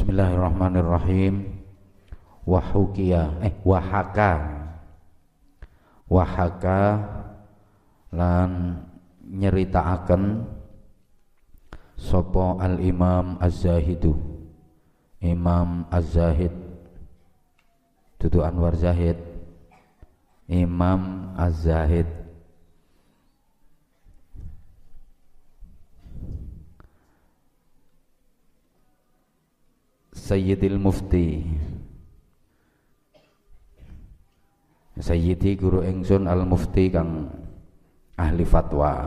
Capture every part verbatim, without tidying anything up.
Bismillahirrahmanirrahim. Wahukia eh wahaka wahaka lan nyeritaaken sapa al Imam Az-Zahidu Imam Az-Zahid dudu Anwar Zahid Imam Az-Zahid Sayyidil Mufti Sayyidi guru ingsun al-Mufti kang ahli fatwa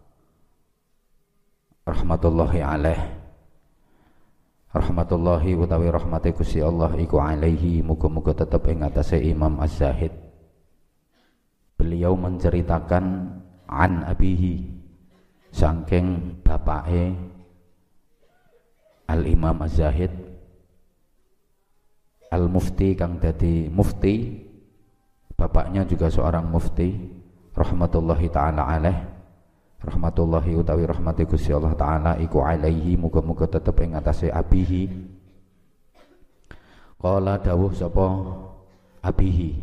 rahmatullahi alaih rahmatullahi utawi rahmati Gusti Allah iku alaihi muga-muga tetep ing atase Imam Az-Zahid. Beliau menceritakan an abihi saking bapake al-Imam Az-Zahid al-Mufti kang dadi mufti, bapaknya juga seorang mufti rahmatullahi taala alaih rahmatullahi utawi rahmati Gusti Allah taala iku alaihi muga-muga tetep ing atase abihi. Qala dawuh sapa abihi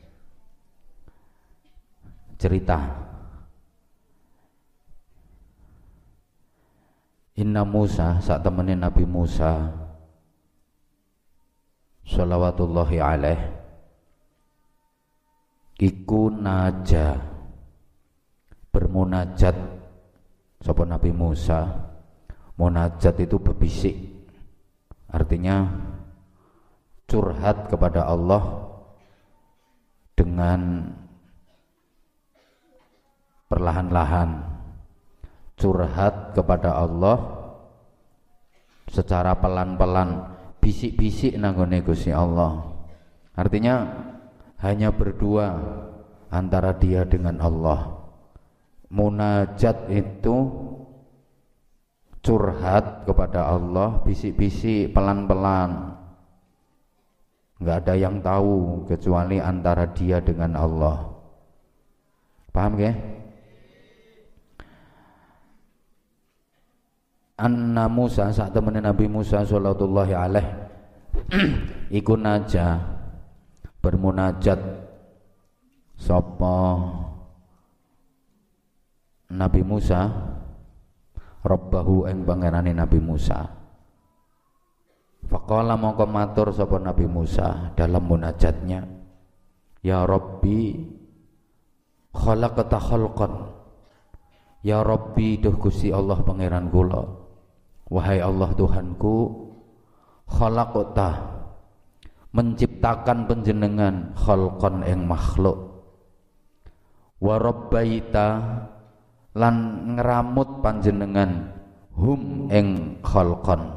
cerita Inna Musa sak temene Nabi Musa shalawatullahi alaih iku naja bermunajat sapa Nabi Musa. Munajat itu berbisik, artinya curhat kepada Allah dengan perlahan-lahan, curhat kepada Allah secara pelan-pelan, bisik-bisik nanggone Gusti Allah. Artinya hanya berdua antara dia dengan Allah. Munajat itu curhat kepada Allah, bisik-bisik pelan-pelan, nggak ada yang tahu kecuali antara dia dengan Allah. Paham ke? Anna Musa saat temene Nabi Musa sallallahu alaih iku naja bermunajat sapa Nabi Musa Rabbahu ing pangerane Nabi Musa. Faqala mongko matur sapa Nabi Musa dalam munajatnya, ya Rabbi khalaqta khalqan, ya Rabbi duh Gusti Allah pangeran kula, wahai Allah Tuhanku, khalaqta menciptakan panjenengan khalqan ing makhluk, wa rabbaita lan ngeramut panjenengan hum ing khalqan.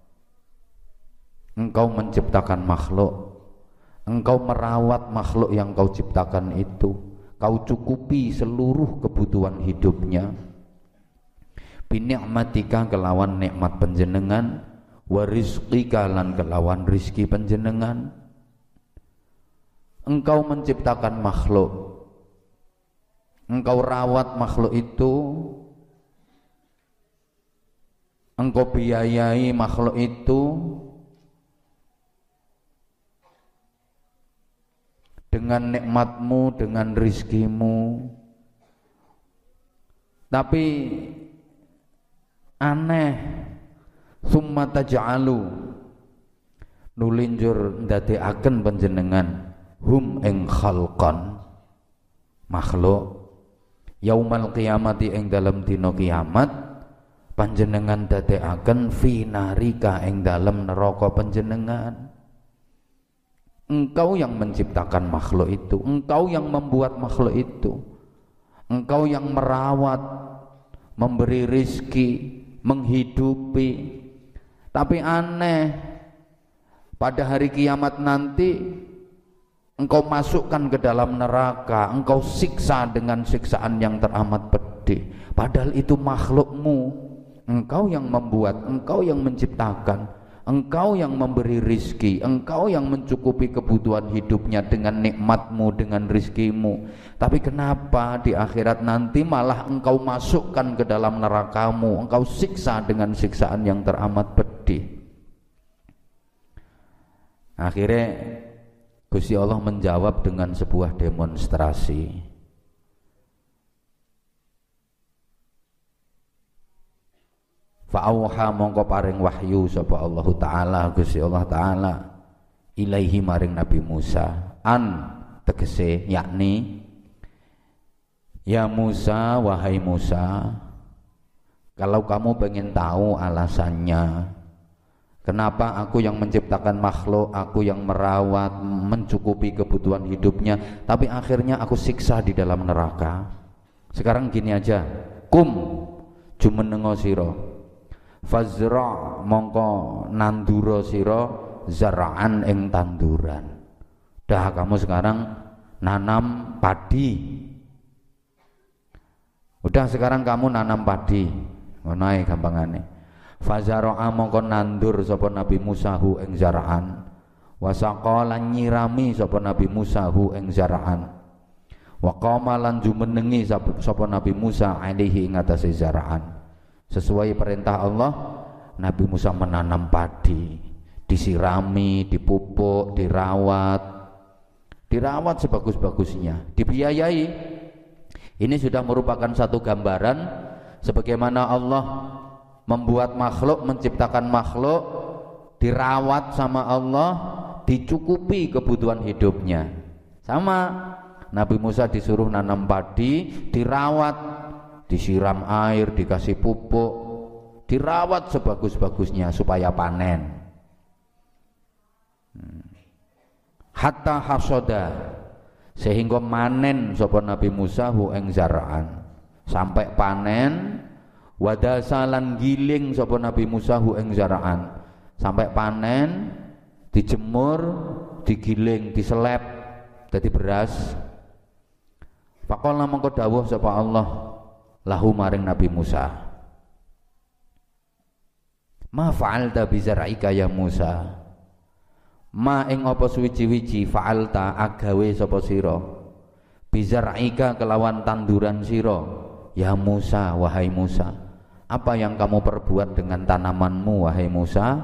Engkau menciptakan makhluk, engkau merawat makhluk yang kau ciptakan itu, kau cukupi seluruh kebutuhan hidupnya binikmatika kelawan nikmat panjenengan, wa rizqika lan kelawan rizki panjenengan. Engkau menciptakan makhluk, engkau rawat makhluk itu, engkau biayai makhluk itu dengan nikmatmu, dengan rizkimu. Tapi aneh, summa taj'alu nulinjur ndadekaken panjenengan hum ing khalqan makhluk yaumal qiyamati ing dalam dina kiamat panjenengan dadekaken fi narika ing dalam neraka panjenengan. Engkau yang menciptakan makhluk itu, engkau yang membuat makhluk itu, engkau yang merawat, memberi rizki, menghidupi. Tapi aneh, pada hari kiamat nanti engkau masukkan ke dalam neraka, engkau siksa dengan siksaan yang teramat pedih. Padahal itu makhlukmu, engkau yang membuat, engkau yang menciptakan, engkau yang memberi rizki, engkau yang mencukupi kebutuhan hidupnya dengan nikmatmu, dengan rizkimu. Tapi kenapa di akhirat nanti malah engkau masukkan ke dalam nerakamu, engkau siksa dengan siksaan yang teramat pedih? Akhirnya Gusti Allah menjawab dengan sebuah demonstrasi. Fa'auha mongko paring wahyu sapa Allah Ta'ala, Gusti Allah Ta'ala ilaihi maring Nabi Musa, an tegese yakni ya Musa, wahai Musa, kalau kamu pengen tahu alasannya kenapa aku yang menciptakan makhluk, aku yang merawat, mencukupi kebutuhan hidupnya, tapi akhirnya aku siksa di dalam neraka. Sekarang gini aja, kum jumenengo sira, fazra mongko nandura sira zara'an ing tanduran. Dah kamu sekarang nanam padi. Udah sekarang kamu nanam padi. Ngono ae gampangane. Fazara'a mongko nandur sapa Nabi Musa hu ing zara'an. Wasaqa lan nyirami sapa Nabi Musa hu ing zara'an. Wa qama lan jumenengi sapa Nabi Musa alaihi ing atase zara'an. Sesuai perintah Allah, Nabi Musa menanam padi, disirami, dipupuk, dirawat, dirawat sebagus-bagusnya, dibiayai. Ini sudah merupakan satu gambaran sebagaimana Allah membuat makhluk, menciptakan makhluk, dirawat sama Allah, dicukupi kebutuhan hidupnya. Sama Nabi Musa disuruh nanam padi, dirawat, disiram air, dikasih pupuk, dirawat sebagus-bagusnya supaya panen. Hatta hasoda, sehingga manen sapa Nabi Musa hu ing zara'an, sampai panen. Wadasalan giling sapa Nabi Musa hu ing zara'an, sampai panen, dijemur, digiling, diselep dadi beras. Faqala mongko dawuh sapa Allah lahu maring Nabi Musa, ma fa'alta bi zar'ika ya Musa, ma ing apa suwiji-wiji fa'alta agawe sapa sira bi zar'ika kelawan tanduran sira ya Musa, wahai Musa. Apa yang kamu perbuat dengan tanamanmu wahai Musa?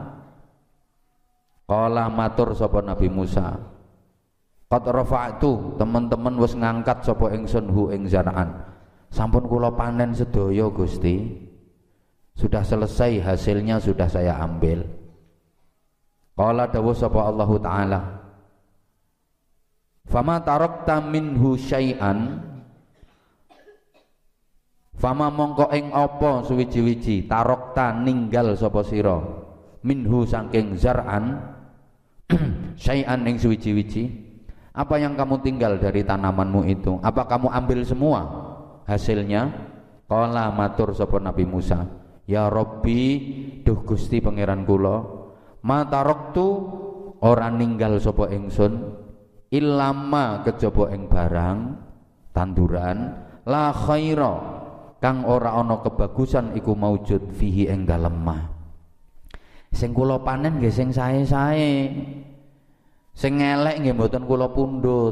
Qala matur sapa Nabi Musa, qad rafa'tu, teman-teman wis ngangkat sapa ingsun hu ing zar'an, sampun kula panen sedaya Gusti, sudah selesai, hasilnya sudah saya ambil. Qala dawuh sapa Allah Ta'ala, fama tarakta minhu syai'an, fama mongko ing apa suwiji-wiji tarakta ninggal sapa sira minhu saking zar'an syai'an ing suwiji-wiji. Apa yang kamu tinggal dari tanamanmu itu? Apa kamu ambil semua hasilnya? Qala matur sapa Nabi Musa, ya Rabbi, duh Gusti pangeran kula, ma taraktu ora ninggal sapa ingsun illama kejaba ing barang tanduran la khaira kang ora ana kebagusan iku maujud fihi ing dalem ma. Sing kula panen nggih sing sae-sae, sing elek nggih mboten kula pundhut.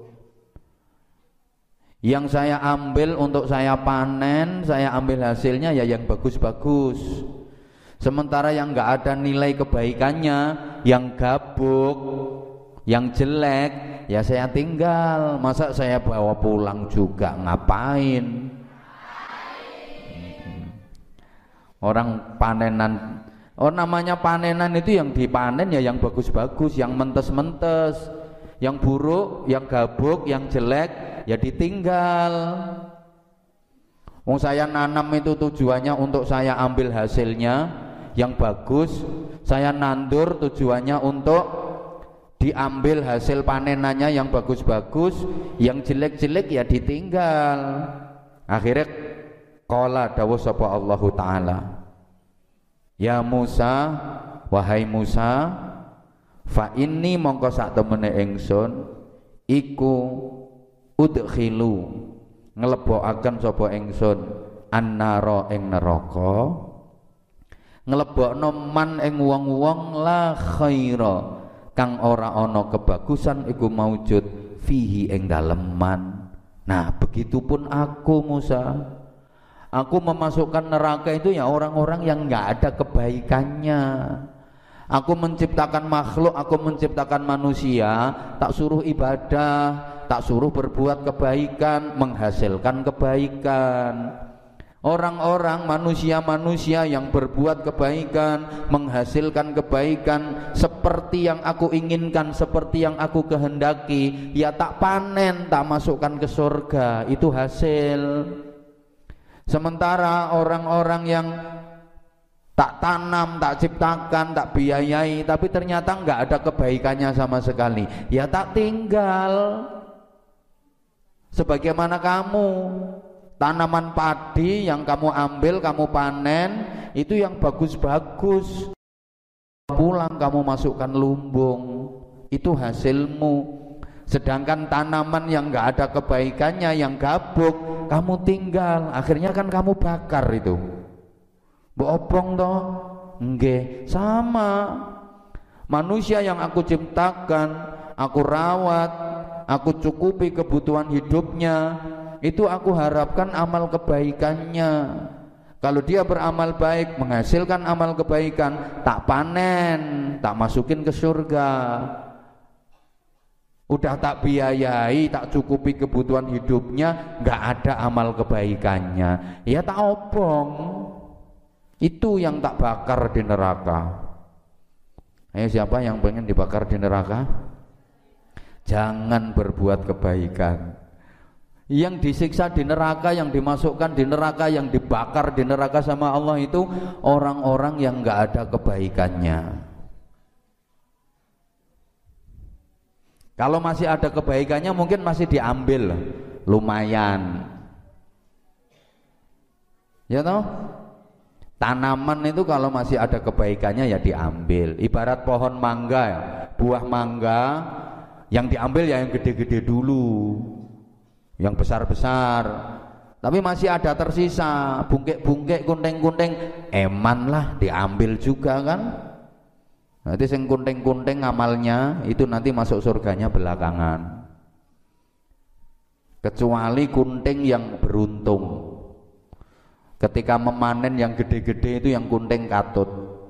Yang saya ambil untuk saya panen, saya ambil hasilnya ya yang bagus-bagus. Sementara yang enggak ada nilai kebaikannya, yang gabuk, yang jelek, ya saya tinggal. Masa saya bawa pulang juga, ngapain? Orang panenan, oh namanya panenan itu yang dipanen ya yang bagus-bagus, yang mentes-mentes, yang buruk, yang gabuk, yang jelek ya ditinggal. Wong saya nanam itu tujuannya untuk saya ambil hasilnya yang bagus, saya nandur tujuannya untuk diambil hasil panenannya yang bagus-bagus, yang jelek-jelek ya ditinggal. Akhirnya qala dawuh sapa Allah Ta'ala, ya Musa, wahai Musa, fa inni mongko sak temene ingsun iku udkhilu nglebokaken sapa ingsun annara ing neraka, nglebokno man ing wong-wong la khaira kang ora ana kebagusan iku maujud fihi ing dalem man. Nah begitupun aku Musa, aku memasukkan neraka itu ya orang-orang yang nggak ada kebaikannya. Aku menciptakan makhluk, aku menciptakan manusia, tak suruh ibadah, tak suruh berbuat kebaikan, menghasilkan kebaikan. Orang-orang, manusia-manusia yang berbuat kebaikan, menghasilkan kebaikan seperti yang aku inginkan, seperti yang aku kehendaki, ya tak panen, tak masukkan ke surga, itu hasil. Sementara orang-orang yang tak tanam, tak ciptakan, tak biayai, tapi ternyata nggak ada kebaikannya sama sekali, ya tak tinggal. Sebagaimana kamu, tanaman padi yang kamu ambil, kamu panen, itu yang bagus-bagus, pulang kamu masukkan lumbung, itu hasilmu. Sedangkan tanaman yang nggak ada kebaikannya, yang gabuk, kamu tinggal, akhirnya kan kamu bakar itu. Bohong toh? Nggih, sama. Manusia yang aku ciptakan, aku rawat, aku cukupi kebutuhan hidupnya, itu aku harapkan amal kebaikannya. Kalau dia beramal baik, menghasilkan amal kebaikan, tak panen, tak masukin ke surga. Udah tak biayai, tak cukupi kebutuhan hidupnya, nggak ada amal kebaikannya, ya tak obong. Itu yang tak bakar di neraka. Ayo, siapa yang pengen dibakar di neraka? Jangan berbuat kebaikan. Yang disiksa di neraka, yang dimasukkan di neraka, yang dibakar di neraka sama Allah itu orang-orang yang nggak ada kebaikannya. Kalau masih ada kebaikannya mungkin masih diambil, lumayan. Ya toh? Tanaman itu kalau masih ada kebaikannya ya diambil. Ibarat pohon mangga ya, buah mangga, yang diambil ya yang gede-gede dulu, yang besar-besar. Tapi masih ada tersisa, bungkek-bungkek, kunting-kunting, eman lah diambil juga kan. Nanti sing kunting-kunting amalnya itu nanti masuk surganya belakangan. Kecuali kunting yang beruntung. Ketika memanen yang gede-gede itu yang kunting katut.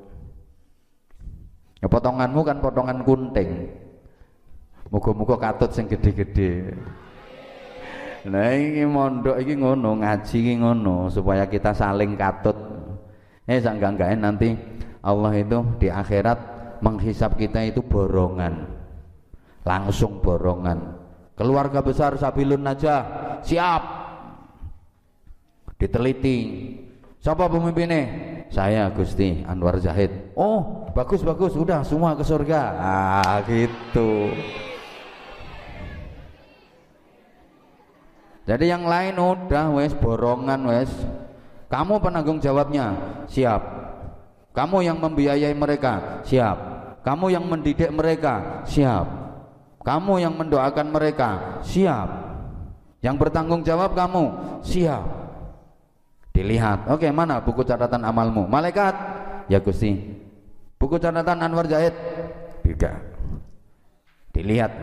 Ya potonganmu kan potongan kunting. Muga-muga katut sing gede-gede. Nah ini mondok ini ngono, ngaji ini ngono, supaya kita saling katut. Eh sangga-sanggain nanti Allah itu di akhirat menghisap kita itu borongan, langsung borongan. Keluarga besar Sabilun Najah siap. Diteliti, siapa pemimpinnya? Saya Gusti Anwar Zahid. Oh bagus bagus, udah semua ke surga. Ah gitu. Jadi yang lain udah wes borongan wes. Kamu penanggung jawabnya, siap. Kamu yang membiayai mereka, siap. Kamu yang mendidik mereka, siap. Kamu yang mendoakan mereka, siap. Yang bertanggung jawab kamu, siap. Dilihat, oke okay, mana buku catatan amalmu? Malaikat, ya Gusti. Buku catatan Anwar Zahid, tidak. Dilihat,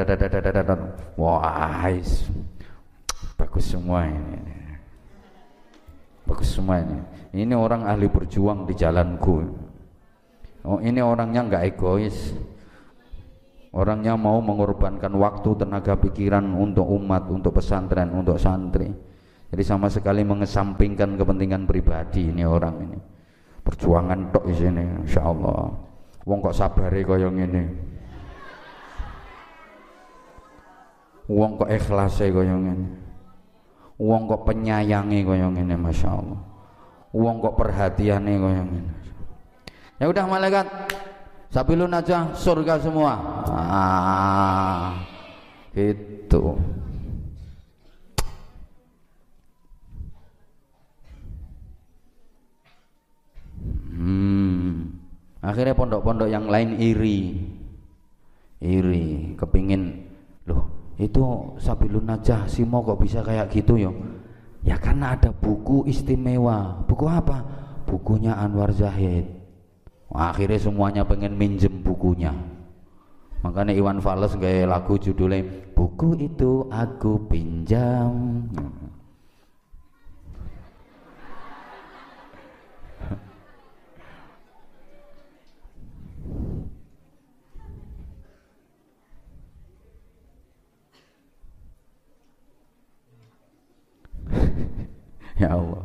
wah, bagus semua ini. Bagus semua ini. Ini orang ahli berjuang di jalanku. Oh, ini orangnya nggak egois. Orangnya mau mengorbankan waktu, tenaga, pikiran untuk umat, untuk pesantren, untuk santri. Jadi sama sekali mengesampingkan kepentingan pribadi ini orang ini. Perjuangan tok di sini, insyaallah. Wong kok sabare kaya ngene. Wong kok ikhlase kaya ngene. Wong kok penyayange kaya ngene, masyaallah. Wong kok perhatiane kaya ngene. Ya udah malaikat, Sabilun aja surga semua. Ah, gitu. Hmm. Akhirnya pondok-pondok yang lain iri, iri, kepingin, loh itu Sabilun Najah Simo kok bisa kayak gitu yo? Ya karena ada buku istimewa. Buku apa? Bukunya Anwar Zahid. Akhirnya semuanya pengen minjem bukunya. Makanya Iwan Fals gaya lagu judulnya buku itu aku pinjam. Ya Allah.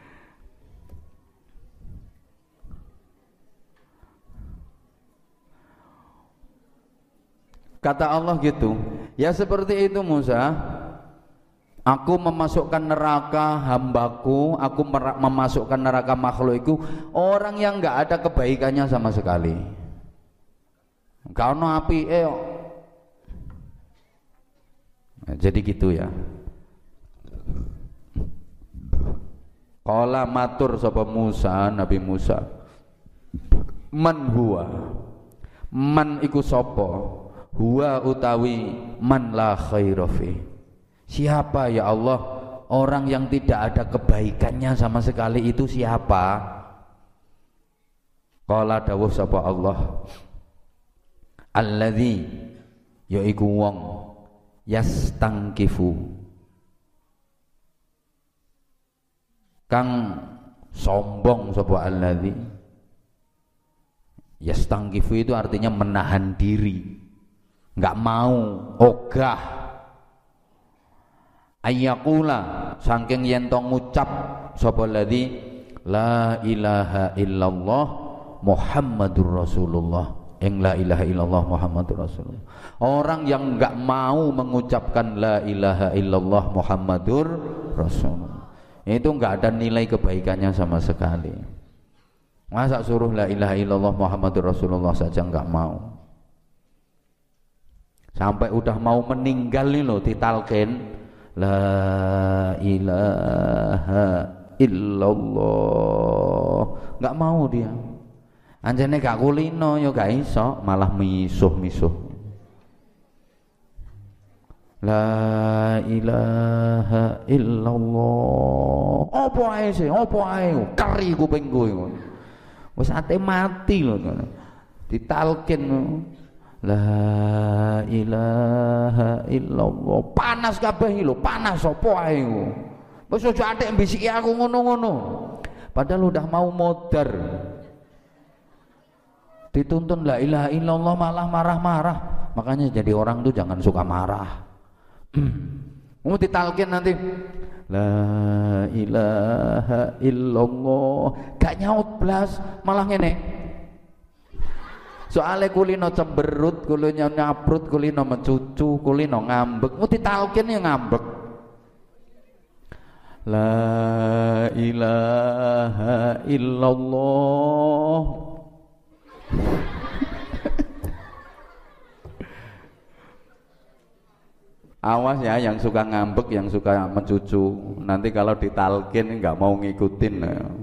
Kata Allah gitu, ya seperti itu Musa, aku memasukkan neraka hambaku, aku memasukkan neraka makhlukku orang yang enggak ada kebaikannya sama sekali. Kalau api eh nah, jadi gitu ya. Qala matur sapa Musa, Nabi Musa, man huwa, man iku sapa, huwa utawi man la khaira fi. Siapa ya Allah orang yang tidak ada kebaikannya sama sekali itu siapa? Qala dawuh sapa Allah, alladzi yaiku wong yastangkifu kang sombong sapa alladzi. Yastangkifu itu artinya menahan diri, enggak mau, ogah. Ayyakula saking yen to ngucap sapa alladzi la ilaha illallah Muhammadur Rasulullah, ing la ilaha illallah Muhammadur Rasulullah. Orang yang enggak mau mengucapkan la ilaha illallah Muhammadur Rasulullah itu enggak ada nilai kebaikannya sama sekali. Masa suruh la ilaha illallah Muhammadur Rasulullah saja enggak mau. Sampai udah mau meninggal nih loh ditalkin la ilaha illallah, enggak mau dia. Anjane gak kulino ya gak iso, malah misuh-misuh. La ilaha illallah. Apa ae sih? Apa ae? Keri kupingku iku. Wis ate mati lho. Ditalkin la ilaha illallah. Panas kabeh lho, panas apa ae iku. Wis aja atik mbisiki aku ngono-ngono. Padahal udah mau modar. Dituntun la ilaha illallah malah marah-marah. Makanya jadi orang tuh jangan suka marah. Mau ditalkin nanti la ilaha illallah gak nyaut blas, malah ngene. Soale kulino cemberut, kulino nyaprut, kulino mencucu, kulino ngambek. Mau ditalkin ya ngambek. La ilaha illallah. Awas ya yang suka ngambek, yang suka mencucu. Nanti kalau ditalkin nggak mau ngikutin.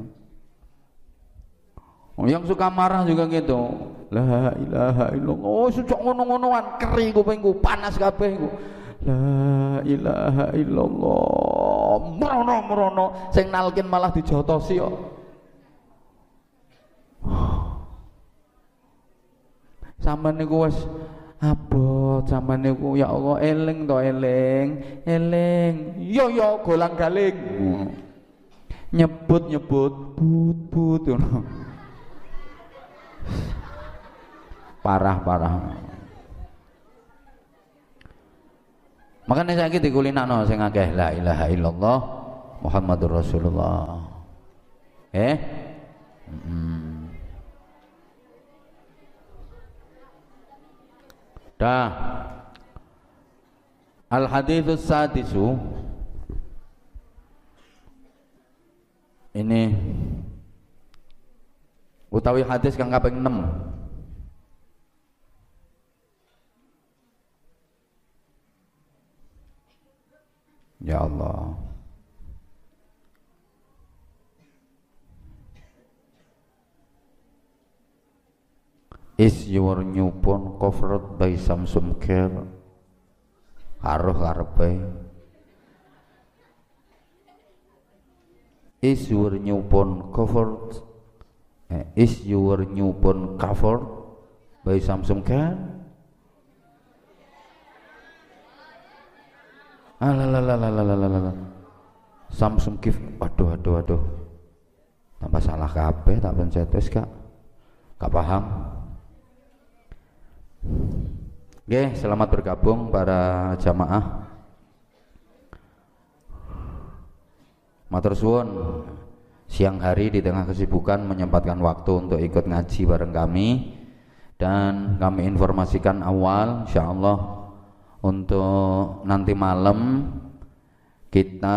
Oh, yang suka marah juga gitu. La ilaha illallah. Oh, sucok ngono-ngonoan, keri kupingku, panas kabeh iku. La ilaha illallah. Merono-merono, sing nalkin malah dijotosi kok. Sampeyan niku wis abot, sampeyan niku ya Allah eling to eling, eling. Yo yo golang-galing. Nyebut-nyebut but-but ngono. Parah-parah. Makanya saiki dikulinakno sing akeh la ilaha illallah Muhammadur Rasulullah. Eh? Hmm. Dah. Al haditsus sadisu. Ini utawi hadis kang kaping enam. Ya Allah. Is your new phone covered by Samsung Care? Aruh karepe. Is your new phone covered? Eh, is your new phone covered by Samsung Care? Alalalalalalalalala. Samsung gift. Aduh aduh aduh. Tambah salah kabeh tak pencet wis Kak. Gak paham. Oke, selamat bergabung para jamaah. Matur suwun siang hari di tengah kesibukan menyempatkan waktu untuk ikut ngaji bareng kami, dan kami informasikan awal insyaallah untuk nanti malam kita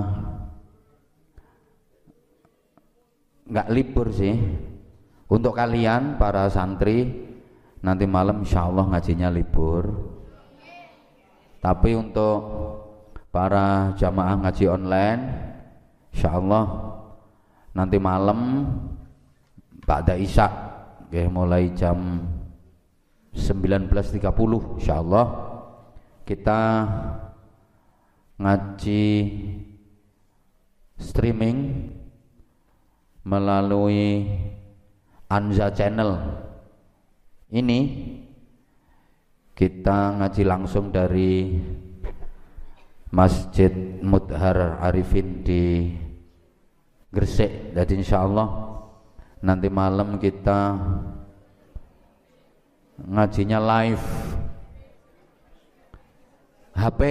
nggak libur sih. Untuk kalian para santri nanti malam insyaallah ngajinya libur, tapi untuk para jamaah ngaji online insyaallah nanti malam ba'da isya okay, mulai jam sembilan belas tiga puluh insyaallah kita ngaji streaming melalui Anza Channel. Ini kita ngaji langsung dari Masjid Mudhar Arifin di Gresik. Jadi insyaallah nanti malam kita ngajinya live H P.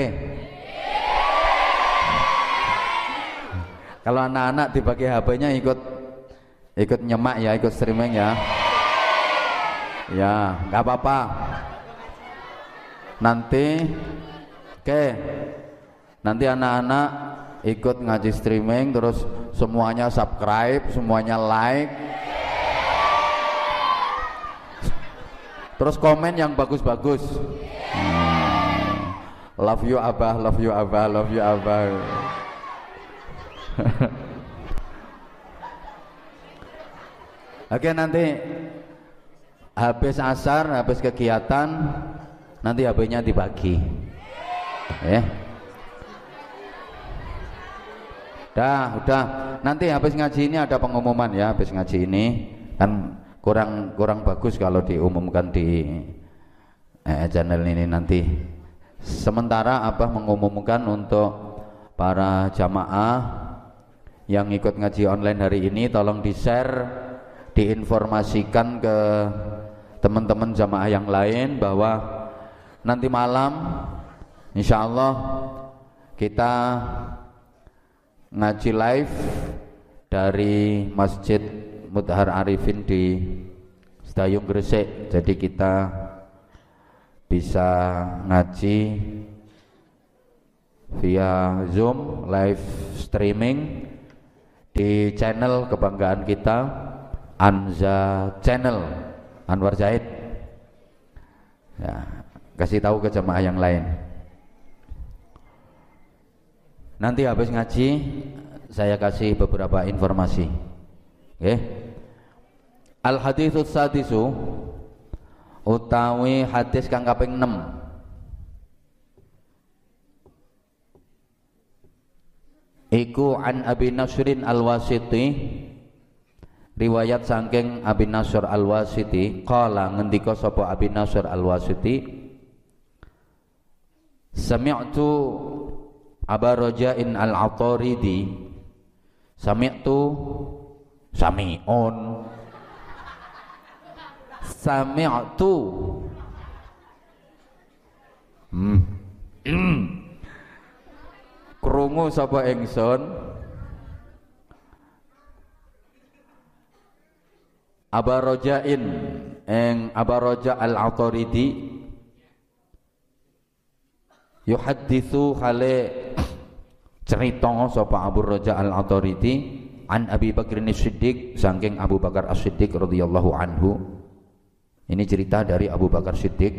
Kalau anak-anak dibagi H P-nya ikut ikut nyemak ya, ikut streaming ya. Ya, nggak apa-apa. Nanti, oke, okay, nanti anak-anak ikut ngaji streaming, terus semuanya subscribe, semuanya like, terus komen yang bagus-bagus. Hmm. Love you abah, love you abah, love you abah. Oke, nanti habis asar, habis kegiatan, nanti H P-nya dibagi. Ya. Dah, udah. Nanti habis ngaji ini ada pengumuman ya, habis ngaji ini kan kurang kurang bagus kalau diumumkan di eh, channel ini nanti. Sementara Abah mengumumkan untuk para jamaah yang ikut ngaji online hari ini, tolong di-share, diinformasikan ke teman-teman jamaah yang lain bahwa nanti malam insyaallah kita ngaji live dari Masjid Mudhar Arifin di Sedayung Gresik. Jadi kita bisa ngaji via Zoom live streaming di channel kebanggaan kita, Anza Channel Anwar Zaid. Ya, kasih tahu ke jemaah yang lain. Nanti habis ngaji saya kasih beberapa informasi. Oke. Okay. Al haditsus sadisu utawi hadis kang kaping enam. Iku an Abi Nasrin Al-Wasiti, riwayat saking Abi Nasr Al-Wasiti, qala ngendika sapa Abi Nasr Al-Wasiti, sami'tu Aba Raja'in Al-Ataridi, sami'tu sami'un sami'tu hmm. krungu sapa ingsun Aba Raja'in ing Aba Raja' Al-Ataridi yuhadditsu hale cerita sapa Abu Raja' Al-Ataridi an Abi Bakr As-Siddiq saking Abu Bakar As-Siddiq radhiyallahu anhu. Ini cerita dari Abu Bakar Siddiq,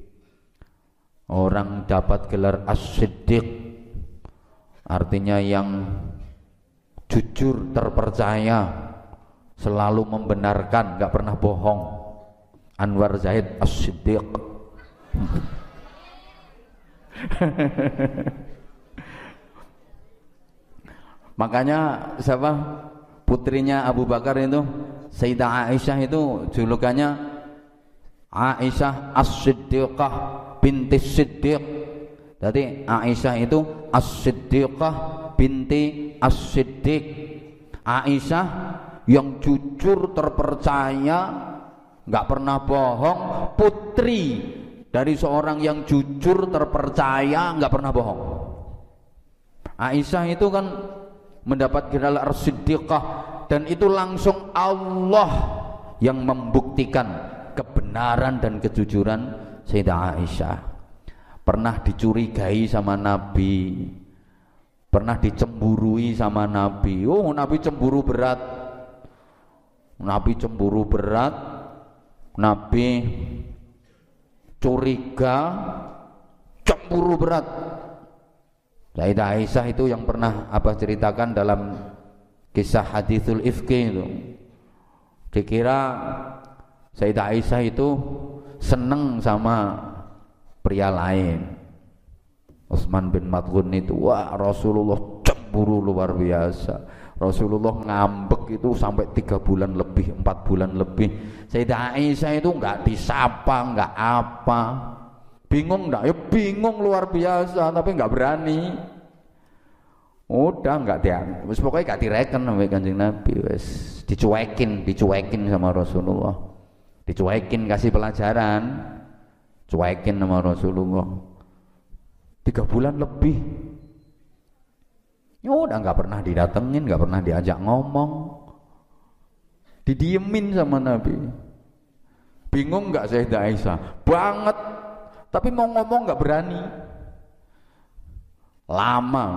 orang dapat gelar As-Siddiq artinya yang jujur, terpercaya, selalu membenarkan, gak pernah bohong. Anwar Zaid As-Siddiq. Makanya siapa putrinya Abu Bakar itu, Sayyidah Aisyah itu julukannya Aisyah As-Siddiqah binti Siddiq. Jadi Aisyah itu As-Siddiqah binti As-Siddiq. Aisyah yang jujur, terpercaya, nggak pernah bohong, putri dari seorang yang jujur, terpercaya, nggak pernah bohong. Aisyah itu kan mendapat gelar As-Siddiqah, dan itu langsung Allah yang membuktikan kebenaran dan kejujuran Sayyidah Aisyah. Pernah dicurigai sama Nabi, pernah dicemburui sama Nabi. Oh, Nabi cemburu berat. Nabi cemburu berat. Nabi curiga, cemburu berat. Sayyidah Aisyah itu yang pernah Abah ceritakan dalam kisah hadithul ifki itu. Dikira Sayyidah Aisyah itu seneng sama pria lain. Utsman bin Mad'un itu, wah Rasulullah cemburu luar biasa. Rasulullah ngambek itu sampai tiga bulan lebih, empat bulan lebih. Sayyidah Aisyah itu enggak disapa, enggak apa. Bingung enggak? Ya bingung luar biasa, tapi enggak berani. Udah enggak dia, wis pokoknya enggak direken sampai Kanjeng Nabi, wis dicuekin, dicuekin sama Rasulullah. Dicuekin, kasih pelajaran. Cuekin sama Rasulullah. Tiga bulan lebih. Ya udah enggak pernah didatengin, enggak pernah diajak ngomong. Didiemin sama Nabi. Bingung enggak Sayyidah Aisyah? Banget. Tapi mau ngomong enggak berani. Lama.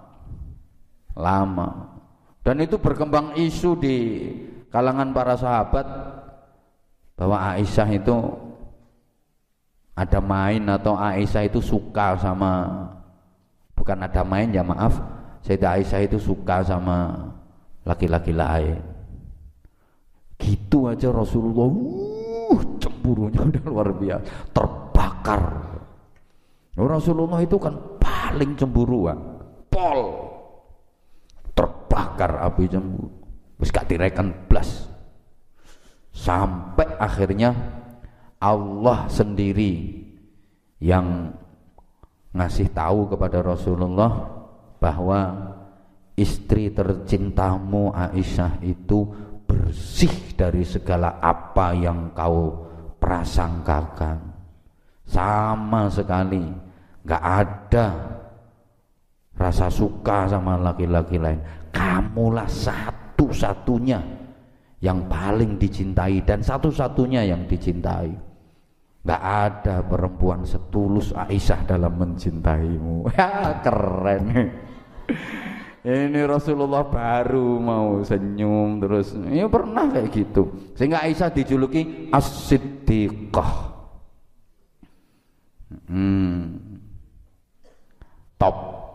Lama. Dan itu berkembang isu di kalangan para sahabat bahwa Aisyah itu ada main, atau Aisyah itu suka sama, bukan ada main ya maaf, Sayyidah Aisyah itu suka sama laki-laki lain. Gitu aja Rasulullah uh, cemburunya udah luar biasa, terbakar. Rasulullah itu kan paling cemburuan, pol, terbakar api cemburu, wis gak direken blas. Sampai akhirnya Allah sendiri yang ngasih tahu kepada Rasulullah bahwa istri tercintamu Aisyah itu bersih dari segala apa yang kau prasangkakan. Sama sekali gak ada rasa suka sama laki-laki lain. Kamulah satu-satunya yang paling dicintai dan satu-satunya yang dicintai. Gak ada perempuan setulus Aisyah dalam mencintaimu. Ya keren. Ini Rasulullah baru mau senyum terus. Ya pernah kayak gitu. Sehingga Aisyah dijuluki As-Siddiqah. Hmm. Top.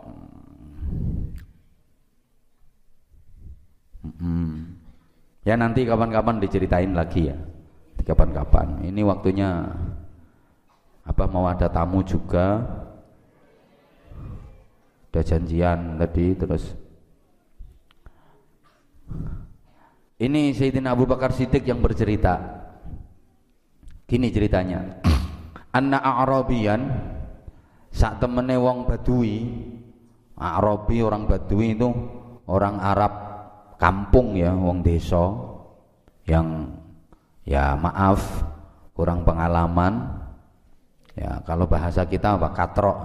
Hmm. Ya nanti kapan-kapan diceritain lagi ya. Kapan-kapan. Ini waktunya apa, mau ada tamu juga. Ada janjian tadi terus. Ini Sayyidina Abu Bakar Siddiq yang bercerita. Gini ceritanya. Anna A'rabiyan, sak temene wong Badui. A'rabi orang Badui itu orang Arab kampung ya, wong desa yang ya maaf kurang pengalaman ya, kalau bahasa kita apa, katrok.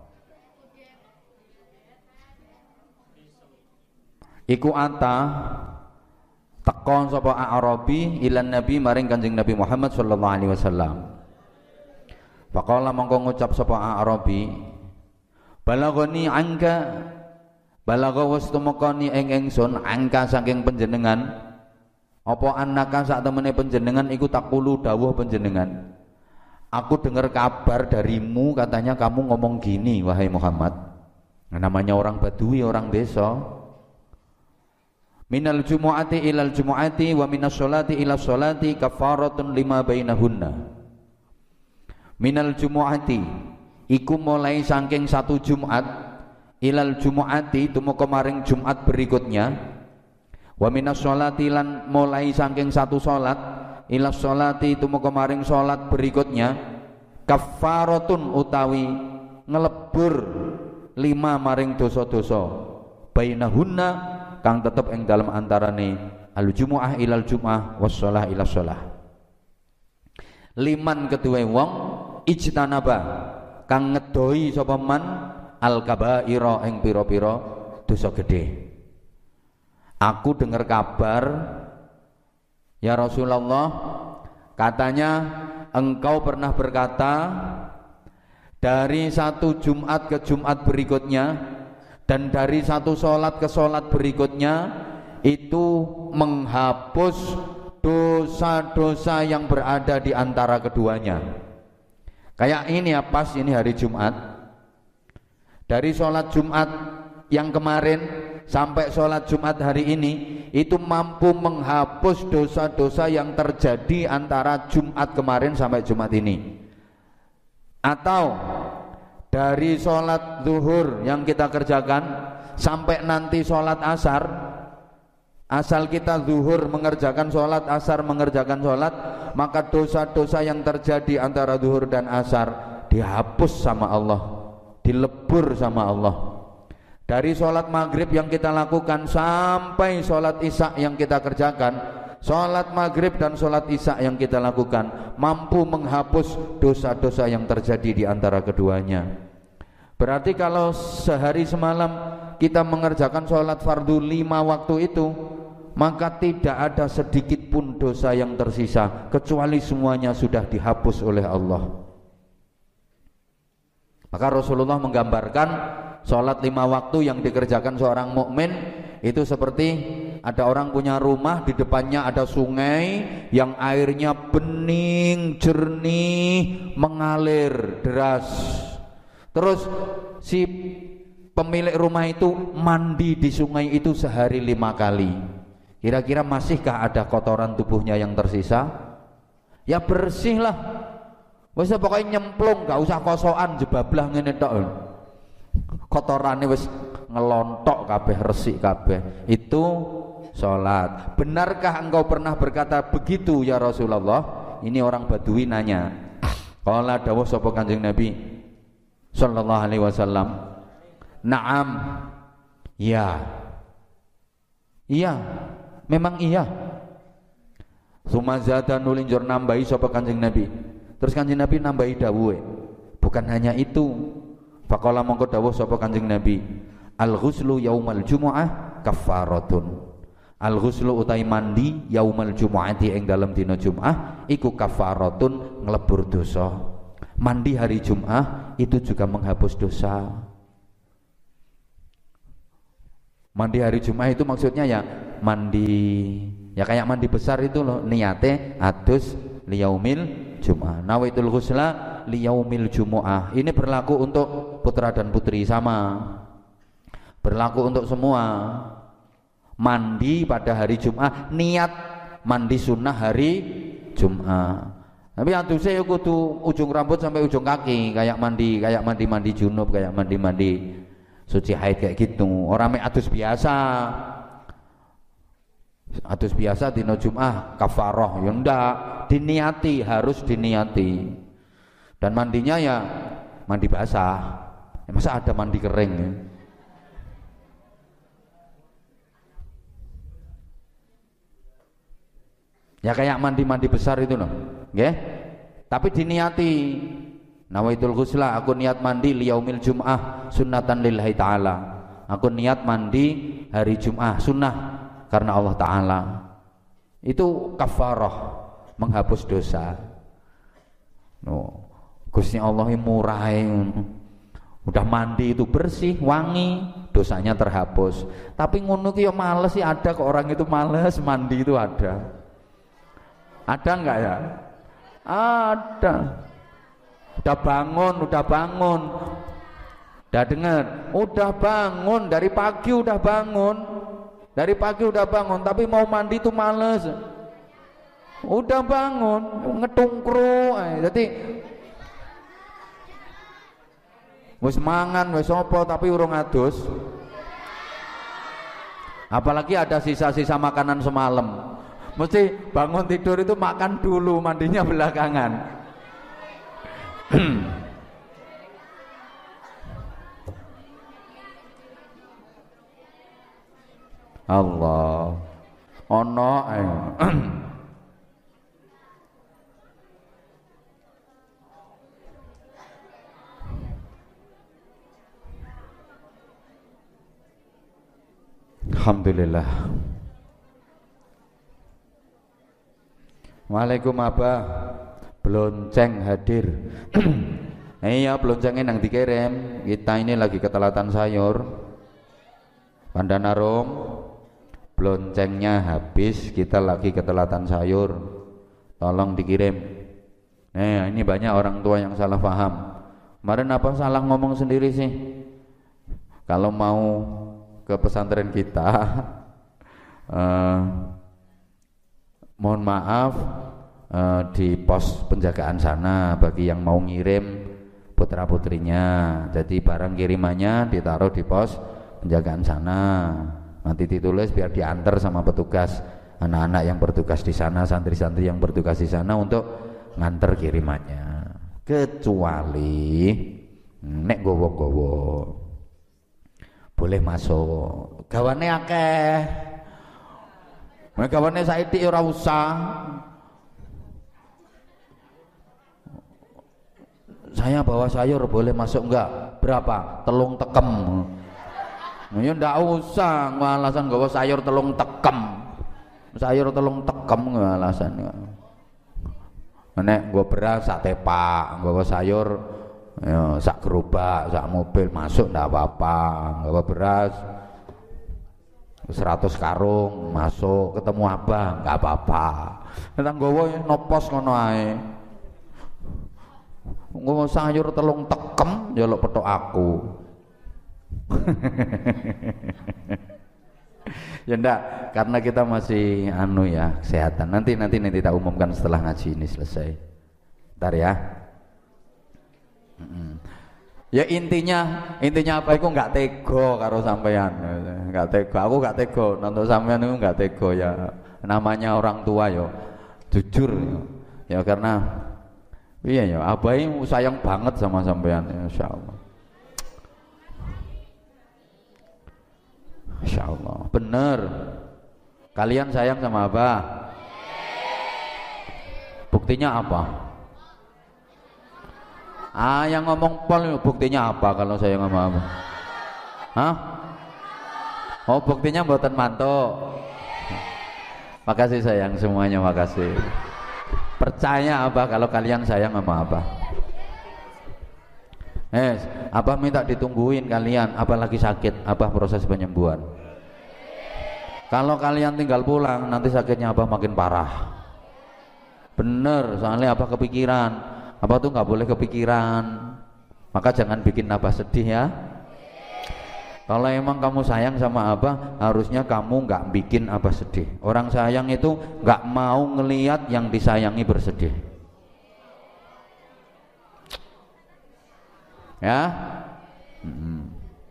Iku ata tekon sapa A'rabi ilan Nabi maring Kanjeng Nabi Muhammad sallallahu alaihi wasallam. Faqala mongko ngucap sapa A'rabi, balagoni angka, balaga wis tumekani ing ingsun angka saking panjenengan apa annaka sak temene panjenengan iku takulu dawuh panjenengan, aku dengar kabar darimu katanya kamu ngomong gini wahai Muhammad. Nah, namanya orang Badui, orang desa. Minal jumu'ati ilal jumu'ati wa minas sholati ila sholati kafaratun lima bainahunna. Minal jumu'ati iku mulai saking satu Jumat ilal jumu'ati tumeka maring Jumat berikutnya, wa minas sholati lan mulai saking satu salat ila sholati tumeka maring salat berikutnya, kafaratun utawi ngelebur lima maring dosa-dosa bainahunna kang tetep ing dalam antarane al jumu'ah ilal jumu'ah was shalah ila shalah. Liman kedue wong ijtanaba kang ngedoi sapa man al kabaira ing pira-pira dosa gedhe. Aku dengar kabar ya Rasulullah, katanya engkau pernah berkata dari satu Jumat ke Jumat berikutnya dan dari satu sholat ke sholat berikutnya itu menghapus dosa-dosa yang berada di antara keduanya. Kayak ini ya, pas ini hari Jumat, dari sholat Jumat yang kemarin sampai sholat Jumat hari ini itu mampu menghapus dosa-dosa yang terjadi antara Jumat kemarin sampai Jumat ini. Atau dari sholat zuhur yang kita kerjakan sampai nanti sholat asar, asal kita zuhur mengerjakan sholat, asar mengerjakan sholat, maka dosa-dosa yang terjadi antara zuhur dan asar dihapus sama Allah, dilebur sama Allah. Dari sholat maghrib yang kita lakukan sampai sholat isya yang kita kerjakan, sholat maghrib dan sholat isya yang kita lakukan mampu menghapus dosa-dosa yang terjadi di antara keduanya. Berarti kalau sehari semalam kita mengerjakan sholat fardu lima waktu itu, maka tidak ada sedikit pun dosa yang tersisa, kecuali semuanya sudah dihapus oleh Allah. Maka Rasulullah menggambarkan sholat lima waktu yang dikerjakan seorang mukmin itu seperti ada orang punya rumah, di depannya ada sungai yang airnya bening, jernih, mengalir deras. Terus si pemilik rumah itu mandi di sungai itu sehari lima kali. Kira-kira masihkah ada kotoran tubuhnya yang tersisa? Ya bersih lah. Wis pokoknya nyemplung, gak usah kosokan jebablah ngene tok. Kotorane wis ngelontok kabeh, resik kabeh. Itu sholat. Benarkah engkau pernah berkata begitu ya Rasulullah? Ini orang Badui nanya. Qala dawuh sapa Kanjeng Nabi sallallahu alaihi wasallam, "Na'am." Ya. Iya, memang iya. Sumazada nulinjur nambahi sapa Kanjeng Nabi. Terus Kanjeng Nabi nambahi dawuhe, bukan hanya itu. Faqala mongko dawuh sapa Kanjeng Nabi, al-ghuslu yaumal jumu'ah kafaratun. Al-ghuslu utai mandi yaumal jumu'ati ing dalam dina Jumat iku kafaratun, nglebur dosa. Mandi hari Jumat itu juga menghapus dosa. Mandi hari Jumat itu maksudnya ya mandi, ya kayak mandi besar itu loh, niate adus liyaumil Jumat. Nawaitul ghusla liyaumil jumu'ah. Ini berlaku untuk putra dan putri sama. Berlaku untuk semua. Mandi pada hari Jumat, niat mandi sunnah hari Jumat. Tapi adusnya ya kudu ujung rambut sampai ujung kaki, kayak mandi, kayak mandi-mandi junub, kayak mandi-mandi suci haid kayak gitu. Orang mek adus biasa. Adus biasa dina Jumat kafaroh ya ndak, diniati, harus diniati. Dan mandinya ya mandi basah. Ya, masa ada mandi kering ya? Ya kayak mandi-mandi besar itu loh, nggih. Tapi diniati. Nawaitul ghusla, aku niat mandi liyaumil Jum'ah sunnatan lillahi ta'ala. Aku niat mandi hari Jum'ah sunnah karena Allah Ta'ala. Itu kafarah, menghapus dosa. No, Gusti Allah murah, udah mandi itu bersih, wangi, dosanya terhapus. Tapi ngono ki ya males sih, ada kok orang itu males mandi itu ada. Ada enggak ya? Ada. Udah bangun, udah bangun. Udah dengar, udah bangun dari pagi udah bangun. Dari pagi udah bangun tapi mau mandi itu males. Udah bangun, ngetungkru. Jadi wis mangan, wis apa tapi urung adus. Apalagi ada sisa-sisa makanan semalam. Mesti bangun tidur itu makan dulu, mandinya belakangan. Allah ono Alhamdulillah. Waalaikum abah. Blonceng hadir. Iya, bloncengnya nang dikirim. Kita ini lagi ketelatan sayur. Pandanarum. Bloncengnya habis, kita lagi ketelatan sayur. Tolong dikirim. Nah, ini banyak orang tua yang salah paham. Kemarin apa salah ngomong sendiri sih? Kalau mau ke pesantren kita, uh, mohon maaf, uh, di pos penjagaan sana bagi yang mau ngirim putra putrinya. Jadi barang kirimannya ditaruh di pos penjagaan sana. Nanti ditulis biar diantar sama petugas, anak-anak yang bertugas di sana, santri-santri yang bertugas di sana untuk nganter kirimannya. Kecuali nek gowo-gowo boleh masuk. Gawane akeh. Nek gawane saiki ora usah. Saya bawa sayur boleh masuk enggak? Berapa? Telung tekem. Ya ndak usah alasan gawa sayur telung tekem. Sayur telung tekem alasan. Nek nggo beras sak tepak, nggawa sayur ya, sak gerobak, sak mobil masuk ndak apa-apa. Nggawa beras seratus karung masuk, ketemu abah enggak apa-apa. Nek nggawa nopos ngono ae. Nggawa sayur telung tekem njaluk petok aku. Ya enggak, karena kita masih anu ya, kesehatan. Nanti nanti nanti kita umumkan setelah ngaji ini selesai. Ntar ya. Mm-mm. Ya intinya, intinya apa? Iku enggak tego karo sampean. Enggak tego, aku enggak tego. Nonton sampean itu enggak tego ya. Namanya orang tua yo, jujur yo. Ya karena iya ya, abai sayang banget sama sampean, insyaallah. Insya Allah, bener. Kalian sayang sama abah. Buktinya apa? Ah, yang ngomong pol, buktinya apa kalau sayang sama abah? Hah? Oh, buktinya mboten mantuk. Makasih sayang semuanya, makasih. Percaya abah kalau kalian sayang sama abah. Eh, abah minta ditungguin kalian, abah lagi sakit, abah proses penyembuhan. Kalau kalian tinggal pulang, nanti sakitnya abah makin parah. Bener, soalnya abah kepikiran. Abah tuh nggak boleh kepikiran. Maka jangan bikin abah sedih ya. Kalau emang kamu sayang sama abah, harusnya kamu nggak bikin abah sedih. Orang sayang itu nggak mau ngelihat yang disayangi bersedih. Ya, hmm.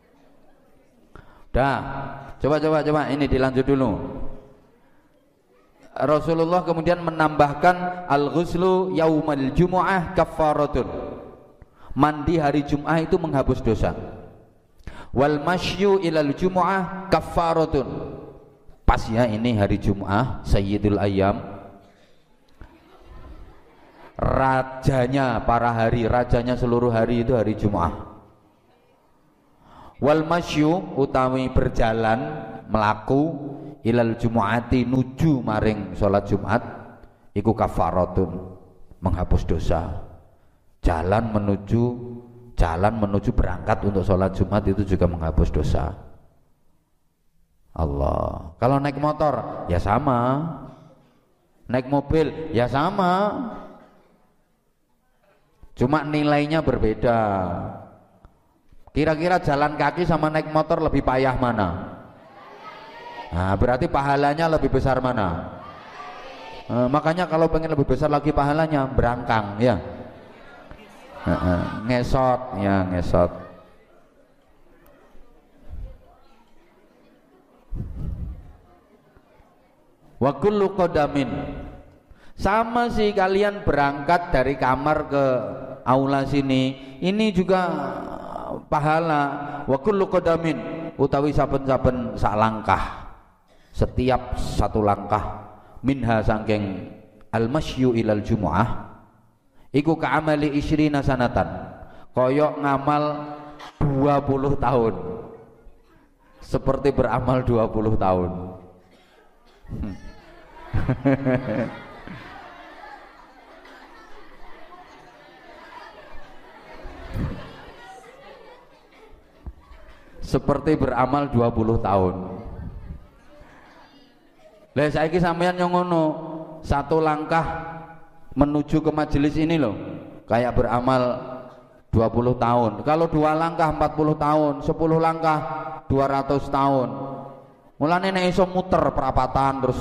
Dah, coba coba coba ini dilanjut dulu. Rasulullah kemudian menambahkan al-ghuslu yaumal jumu'ah kaffaratun. Mandi hari Jumat itu menghapus dosa. Wal masyu ilal jumu'ah kaffaratun. Pas ya ini hari Jumat, Sayyidul Ayyam. Rajanya para hari, rajanya seluruh hari itu hari Jumat. Wal masyu utawi berjalan melaku ilal jumu'ati nuju maring salat Jumat iku kafaratun, menghapus dosa. Jalan menuju jalan menuju berangkat untuk salat Jumat itu juga menghapus dosa. Allah. Kalau naik motor ya sama. Naik mobil ya sama. Cuma nilainya berbeda. Kira-kira jalan kaki sama naik motor lebih payah mana? Nah, berarti pahalanya lebih besar mana? Nah, makanya kalau pengen lebih besar lagi pahalanya, berangkang ya. Nah, ngesot ya, ngesot. Wa kullu qadamin. Sama sih kalian berangkat dari kamar ke aula sini, ini juga pahala. Wa kullu qadamin utawi saben-saben sak langkah, setiap satu langkah minha sangking al-masyu ilal jumu'ah iku ka'amali isyrina sanatan, koyok ngamal dua puluh tahun. seperti beramal dua puluh tahun. Seperti beramal dua puluh tahun. Lah saiki sampeyan yang ngono, satu langkah menuju ke majelis ini loh, kayak beramal dua puluh tahun. Kalau dua langkah empat puluh tahun, sepuluh langkah dua ratus tahun. Mulane nek iso muter perapatan terus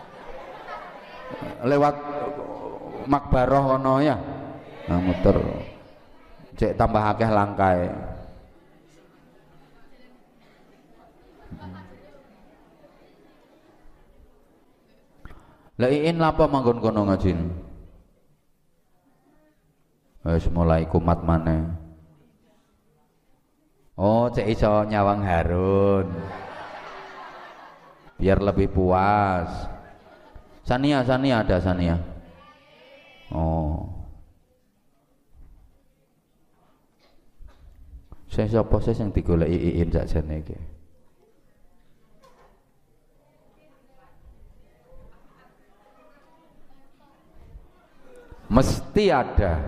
lewat makbaroh kono ya. Nah, muter cek tambah akeh langkae. Lah iin lapa manggon kono ngajin. Wis mulai kumat maneh. Oh, cek iso nyawang Harun. Biar lebih puas. Sania, Sania ada Sania. Oh. Saya sapa sih sing digoleki iin sakjane iki. Mesti ada.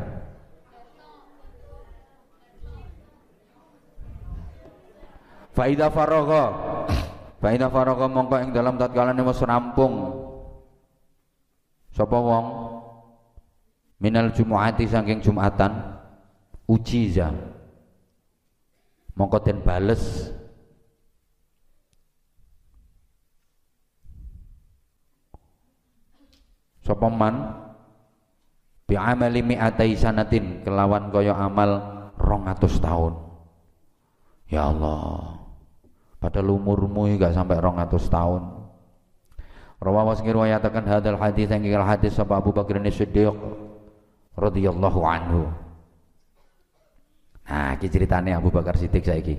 Faida faragha. Faida faragha mongko ing dalam tatkalane wis rampung sapa wong minal jumuati saking Jumatan ujiza mongko den bales sapa man bi amali mi'atai sanatin kelawan kaya amal rong atus tahun. Ya Allah, padahal umurmu gak sampai rong atus tahun. Rawahu sing riwayataken hadal hadis yang kira hadis sapa Abu Bakar As-Siddiq radhiyallahu anhu. Nah, iki ceritane Abu Bakar Siddiq saiki.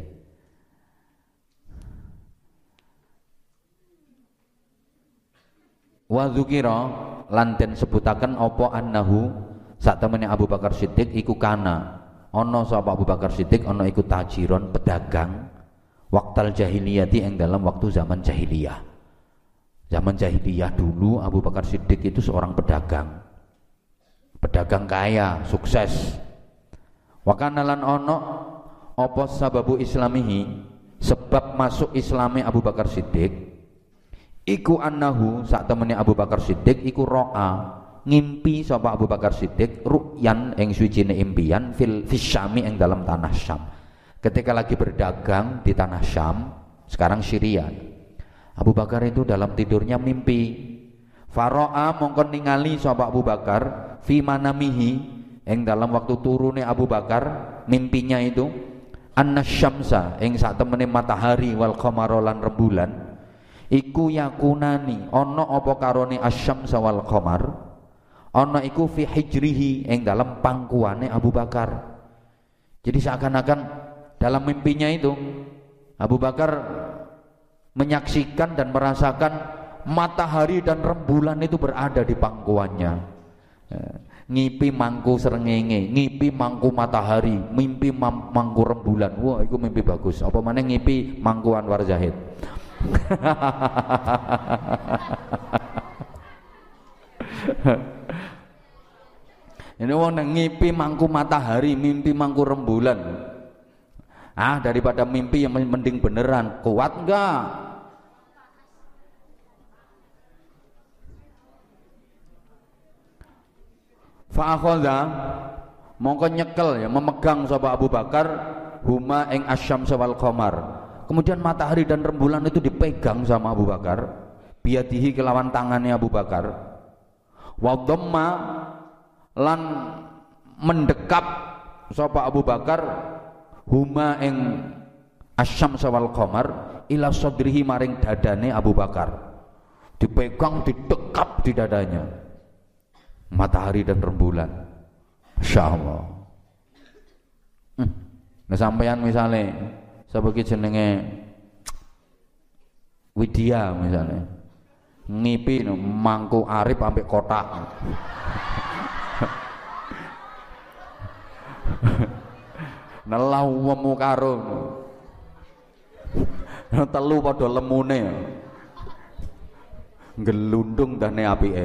Wa dzukira lan den sebutaken apa annahu sak temene Abu Bakar Siddiq iku kana ana sapa Abu Bakar Siddiq ana iku tajiron pedagang waktal jahiliyati yang dalam waktu zaman jahiliyah. Zaman jahiliyah dulu Abu Bakar Siddiq itu seorang pedagang. Pedagang kaya, sukses. Wa kana lan ana apa sababu islamihi sebab masuk Islami Abu Bakar Siddiq iku annahu sak temene Abu Bakar Siddiq iku ro'a ngimpi sapa Abu Bakar Siddiq ru'yan ing suwijine impian fil fisyami ing dalam tanah Syam. Ketika lagi berdagang di tanah Syam, sekarang Syria. Abu Bakar itu dalam tidurnya mimpi. Faro'a mongkon ningali sapa Abu Bakar fi manamihi ing dalam waktu turune Abu Bakar mimpinya itu anna syamsa ing sak temene matahari wal qamara lan rembulan iku yakunani ana apa karone asyamsa wal qamar ana iku fi hijrihi ing dalam pangkuane Abu Bakar. Jadi seakan-akan dalam mimpinya itu Abu Bakar menyaksikan dan merasakan matahari dan rembulan itu berada di pangkuannya. Ngipi mangku srengenge, ngipi mangku matahari, mimpi mangku rembulan. Wah, itu mimpi bagus. Apa maneh ngipi mangku Anwar Zahid. Ini wong ngipi mangku matahari, mimpi mangku rembulan. Ah, daripada mimpi yang mending beneran. Kuat enggak? Fa akhadha mongko nyekel ya memegang sapa Abu Bakar huma ing asyamsa wal qamar. Kemudian matahari dan rembulan itu dipegang sama Abu Bakar, biadihi kelawan tangannya Abu Bakar. Wa dhamma lan mendekap sapa Abu Bakar huma ing asyamsa wal qamar ila sadrihi maring dadane Abu Bakar. Dipegang, didekap di dadanya. Matahari dan rembulan. Masya Allah. Hmm. Nah sampeyan misalnya sebagai jenenge Widya misalnya ngipi no, mangku Arif sampai kotak. Nelau wemu karo Telu padha lemune. Gelundung dane apike.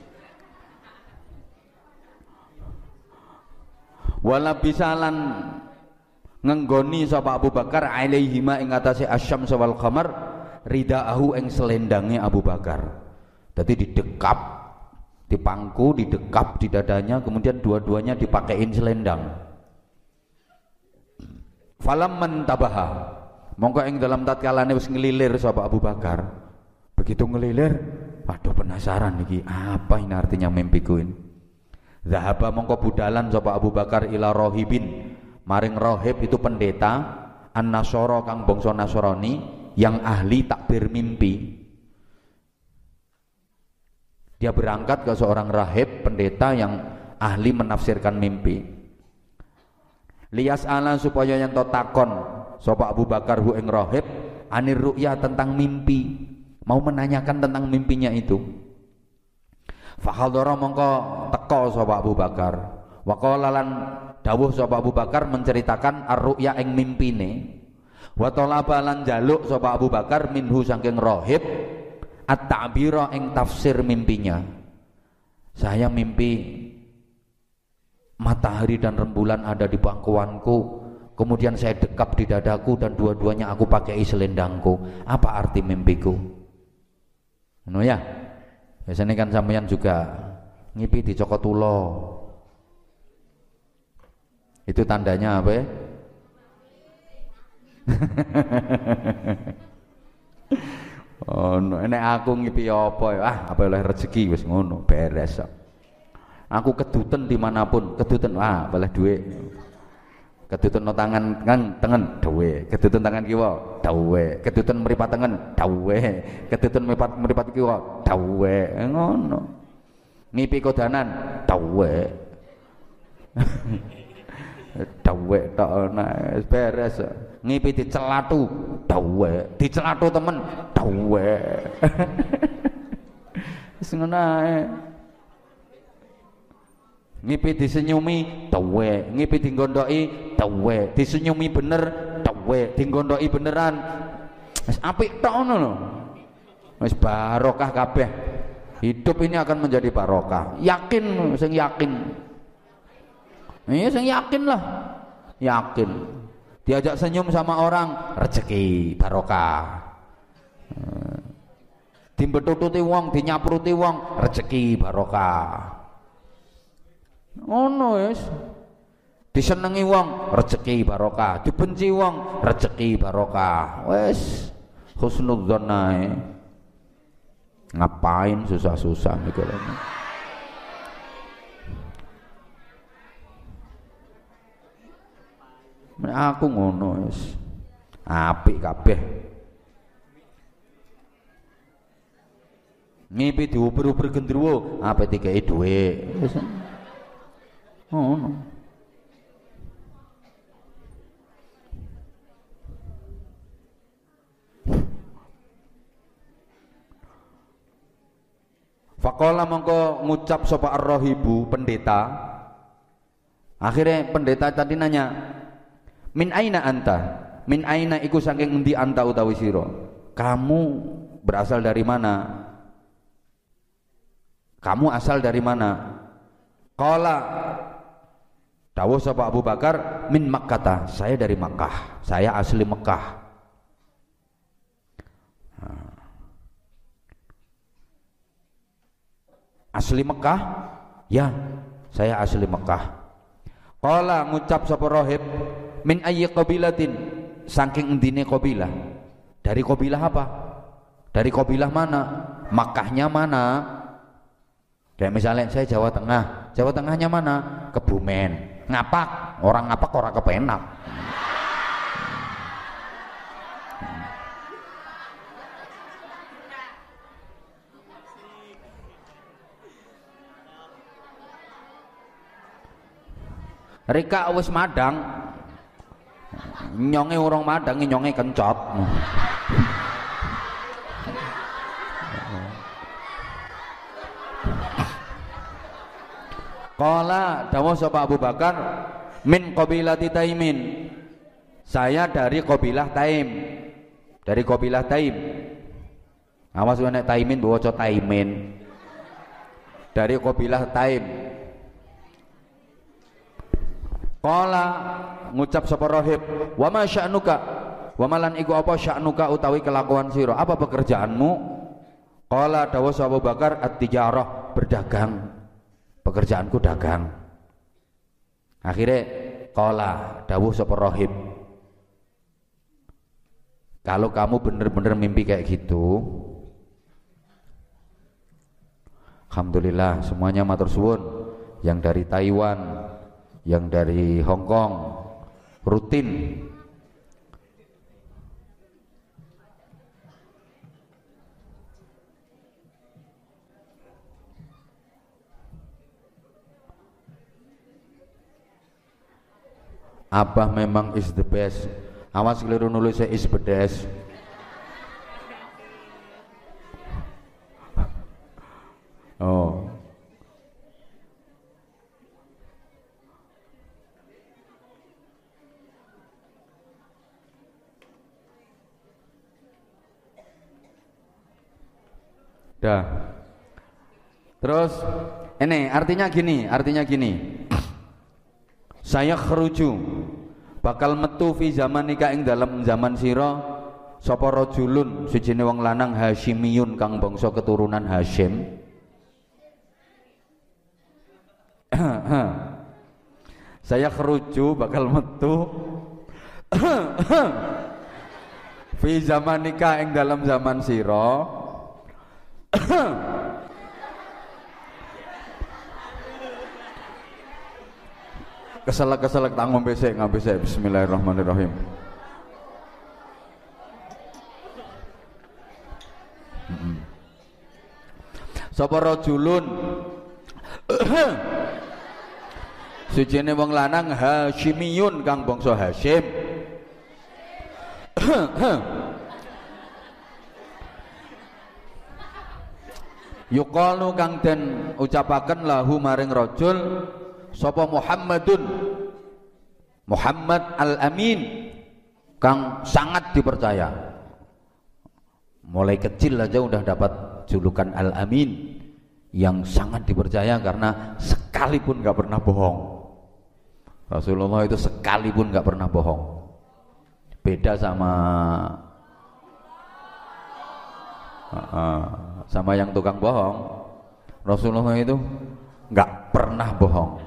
Wala bisalan ngenggoni sapa Abu Bakar alaihima ing atase asyams wal qamar ridaahu ing selendange Abu Bakar. Dadi didekap, dipangku, didekap di dadanya, kemudian dua-duanya dipakein selendang. Falam mantabaha, mongko ing dalam tatkalane wis ngelilir sapa Abu Bakar. Begitu ngelilir, waduh penasaran iki, apa ini artinya mimpiku ini? Zahaba mongko budalan sapa Abu Bakar ila rohibin, maring rohib itu pendeta an-Nasara kang bangsa Nasrani yang ahli takbir mimpi. Dia berangkat ke seorang rahib pendeta yang ahli menafsirkan mimpi. Liyas ala supaya yang to takon sapa Abu Bakar hu ing rahib anir ru'ya tentang mimpi, mau menanyakan tentang mimpinya itu. Fahadhara mongko teka sapa Abu Bakar. Wa qala lan dawuh sapa Abu Bakar menceritakan ar-ru'ya ing mimpine. Wa talaba lan jaluk sapa Abu Bakar minhu saking rahib at-ta'bira ing tafsir mimpinya. Saya mimpi matahari dan rembulan ada di pangkuanku, kemudian saya dekap di dadaku dan dua-duanya aku pakai selendangku. Apa arti mimpiku? Ngono ya. Biasanya kan sampeyan juga ngipi di Cokotulo. Itu tandanya apa ya? Oh, nek aku ngipi apa ya? Ah, apa oleh rezeki wis ngono, beres. Aku keduten dimanapun, keduten ah, boleh duit. Keduten no tangan kan tengen dawe, keduten tangan kiwa dawe, keduten mripat tengen dawe, keduten mripat mripat kiwa dawe, ngono. Ngipi kodanan dawe. Dawe tok ana beres. Ngipi dicelatu dawe, dicelatu temen dawe. Wis ngono ae. Ngipi disenyumi dawe, ngipi digondhoki dawe, disenyumi bener dawe, digondhoki beneran. Wis apik tok ngono lho. Wis barokah kabeh. Hidup ini akan menjadi barokah. Yakin, sing yakin. Iya, sing yakin lah. Yakin. Diajak senyum sama orang, rezeki barokah. Dimbetututi wong, dinyapruti wong, rezeki barokah. Ngono wis. Disenengi wong, rezeki barokah. Dibenci wong, rezeki barokah. Wis husnudzon ae. Ngapain susah-susah mikirnya? Aku ngono wis. Apik kabeh. Ngipi diuber-uber gendruwo, apa dikei dhuwit. Wis. Ngono. Faqala mongko ngucap sapa ar-rahibu pendeta. Akhirnya pendeta tadi nanya, min aina anta? Min aina iku saking endi anta utawi sira? Kamu berasal dari mana? Kamu asal dari mana? Qala dawuh sapa Abu Bakar, min Makkah, saya dari Makkah, saya asli Mekah. Asli Mekah? Ya, saya asli Mekah. Qala ngucap sapa rahib, min ayyi qabilatin, saking endine qabilah. Dari qabilah apa? Dari qabilah mana? Makkahnya mana? Kayak misalnya saya Jawa Tengah, Jawa Tengahnya mana? Kebumen. Ngapak, orang ngapak orang kepenak. Rika wis madang, nyonge urung madang, nyonge kencot. Qala dawuh sapa Abu Bakar, min qabilati Taimin. Saya dari qabilah Taim. dari kabilah Taim. Awas nek Taimin baca Taimin. Dari kabilah Taim. Qala ngucap sapa rahib, "Wa ma sya'nuka?" Wa malan iku apa sya'nuka utawi kelakuan sira? Apa pekerjaanmu? Qala dawuh Abu Bakar, at-tijarah, berdagang. Pekerjaanku dagang. Akhirnya qala dawuh sapa rahib, kalau kamu benar-benar mimpi kayak gitu, alhamdulillah semuanya matur suwun, yang dari Taiwan, yang dari Hong Kong rutin Abah memang is the best. Awas keliru nulisnya is bedes. Oh. Dah. Terus ini artinya gini, artinya gini. Saya kheruju bakal metu fi zaman nikah ing dalam zaman sira sapa rajulun sijine wong lanang Hasyimiyun kang bangsa keturunan Hasyim. Saya kheruju bakal metu fi zaman nikah ing dalam zaman sira keselak-keselak tak ngombe sik, ngombe sik. Bismillahirrahmanirrahim. Heeh. Sapa rajulun sujene wong lanang Hasyimiyun kang bangsa Hasyim. Yuqalu kang den ucapaken lahu maring rajul sapa Muhammadun, Muhammad Al-Amin kang sangat dipercaya. Mulai kecil aja udah dapat julukan Al-Amin, yang sangat dipercaya karena sekalipun gak pernah bohong. Rasulullah itu sekalipun gak pernah bohong. Beda sama sama yang tukang bohong. Rasulullah itu gak pernah bohong.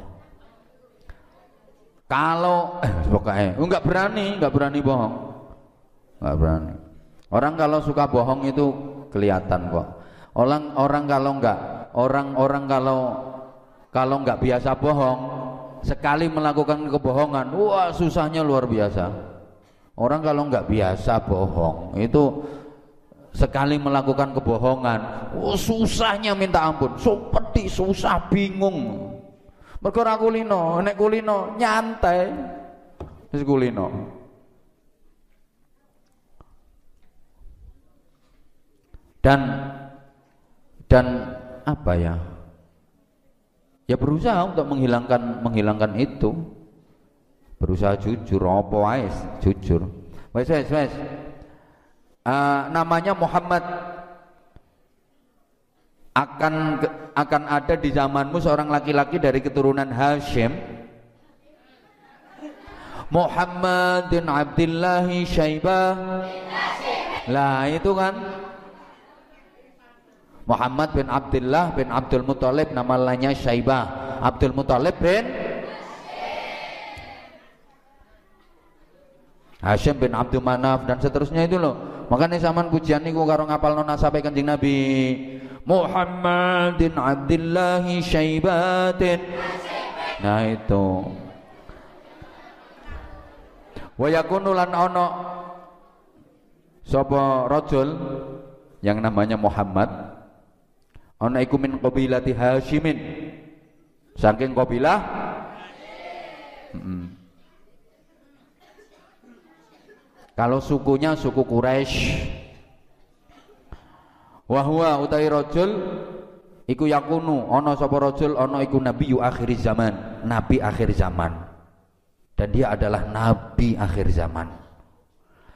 Kalau eh pokoknya enggak berani, enggak berani bohong. Enggak berani. Orang kalau suka bohong itu kelihatan kok. Orang orang kalau enggak, orang-orang kalau kalau enggak biasa bohong, sekali melakukan kebohongan, wah susahnya luar biasa. Orang kalau enggak biasa bohong, itu sekali melakukan kebohongan, oh, susahnya minta ampun, seperti susah bingung. Mergo ora kulino, nek kulino nyantai. Wis kulino. Dan dan apa ya? Ya berusaha untuk menghilangkan menghilangkan itu. Berusaha jujur, apa wae jujur. Wes wes wes. Uh, namanya Muhammad. Akan akan ada di zamanmu seorang laki-laki dari keturunan Hasyim, Muhammad bin Abdullah Syaibah. Lah itu kan Muhammad bin Abdullah bin Abdul Muthalib, nama lainnya Syaibah. Abdul Muthalib bin Hasyim bin Abdul Manaf dan seterusnya itu loh. Makanya zaman pujian niku karo ngapalno nasabe Kanjeng Nabi. Muhammadin Abdillahi Syaibatin. Nah itu. Wa yakunu lan ana sapa rajul yang namanya Muhammad, ana iku min qabilati Hasyimin, saking kabilah hmm. Kalau sukunya suku Quraisy. Wa huwa utai rajul iku yakunu ana sapa rajul ana iku nabiyyu akhir zaman, nabi akhir zaman. Dan dia adalah nabi akhir zaman.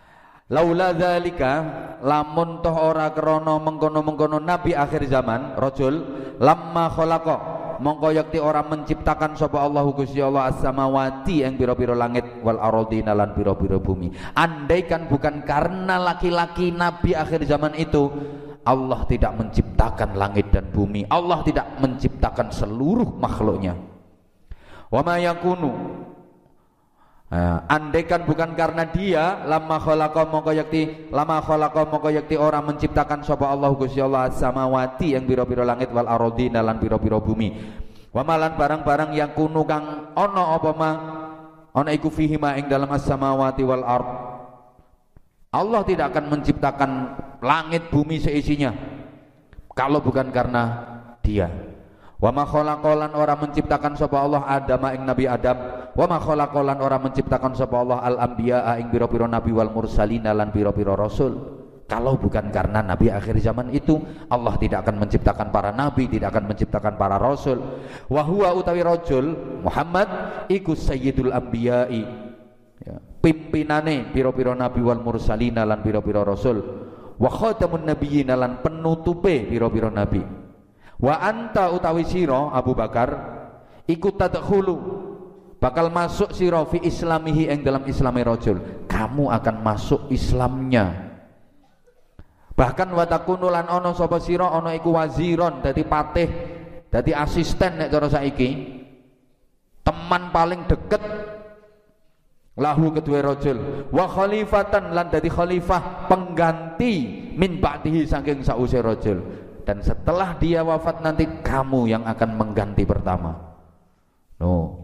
Laula dzalika lamun toh ora krana mengkono-mengkono nabi akhir zaman rajul lamma khalaqa mongko yakti ora menciptakan sapa Allahu Gusti Allah as-samawati ing pira-pira langit wal ardina lan pira-pira bumi. Andaikan bukan karena laki-laki nabi akhir zaman itu, Allah tidak menciptakan langit dan bumi, Allah tidak menciptakan seluruh makhluknya. Wa ma yakunu, nah, andaikan bukan karena dia lama khalaqa mongko yakti lama khalaqa mongko yakti orang menciptakan sapa Allah Gusti Allah samawati yang pira-pira langit wal ardina lan pira-pira bumi. Wa malan barang-barang yang kunu kang ana apa ma ana iku fihi ma ing dalam as-samawati wal ard. Allah tidak akan menciptakan langit bumi seisinya kalau bukan karena dia. Wa ma khalaqalan ora menciptakan sapa Allah Adam ing Nabi Adam, wa ma khalaqalan ora menciptakan sapa Allah al anbiya ing pira-pira nabi wal mursalin lan pira-pira rasul. Kalau bukan karena nabi akhir zaman itu, Allah tidak akan menciptakan para nabi, tidak akan menciptakan para rasul. Wa huwa utawi rajul Muhammad iku sayyidul anbiya'i, ya, pimpinane pira-pira nabi wal mursalin lan pira-pira rasul, wa khatamun nabiyyin lan penutupe pira-pira nabi. Wa anta utawi sira Abu Bakar ikut tadkhulu bakal masuk sira fi islamihi ing dalam islami rajul, kamu akan masuk Islamnya. Bahkan wa takunu lan ana sapa sira ana iku waziron, dadi patih, dadi asisten nek cara saiki, teman paling deket lahu kedua rajul, wa khalifatan lan dadi khalifah pengganti min ba'dihi saking sause rajul. Dan setelah dia wafat nanti kamu yang akan mengganti pertama. No.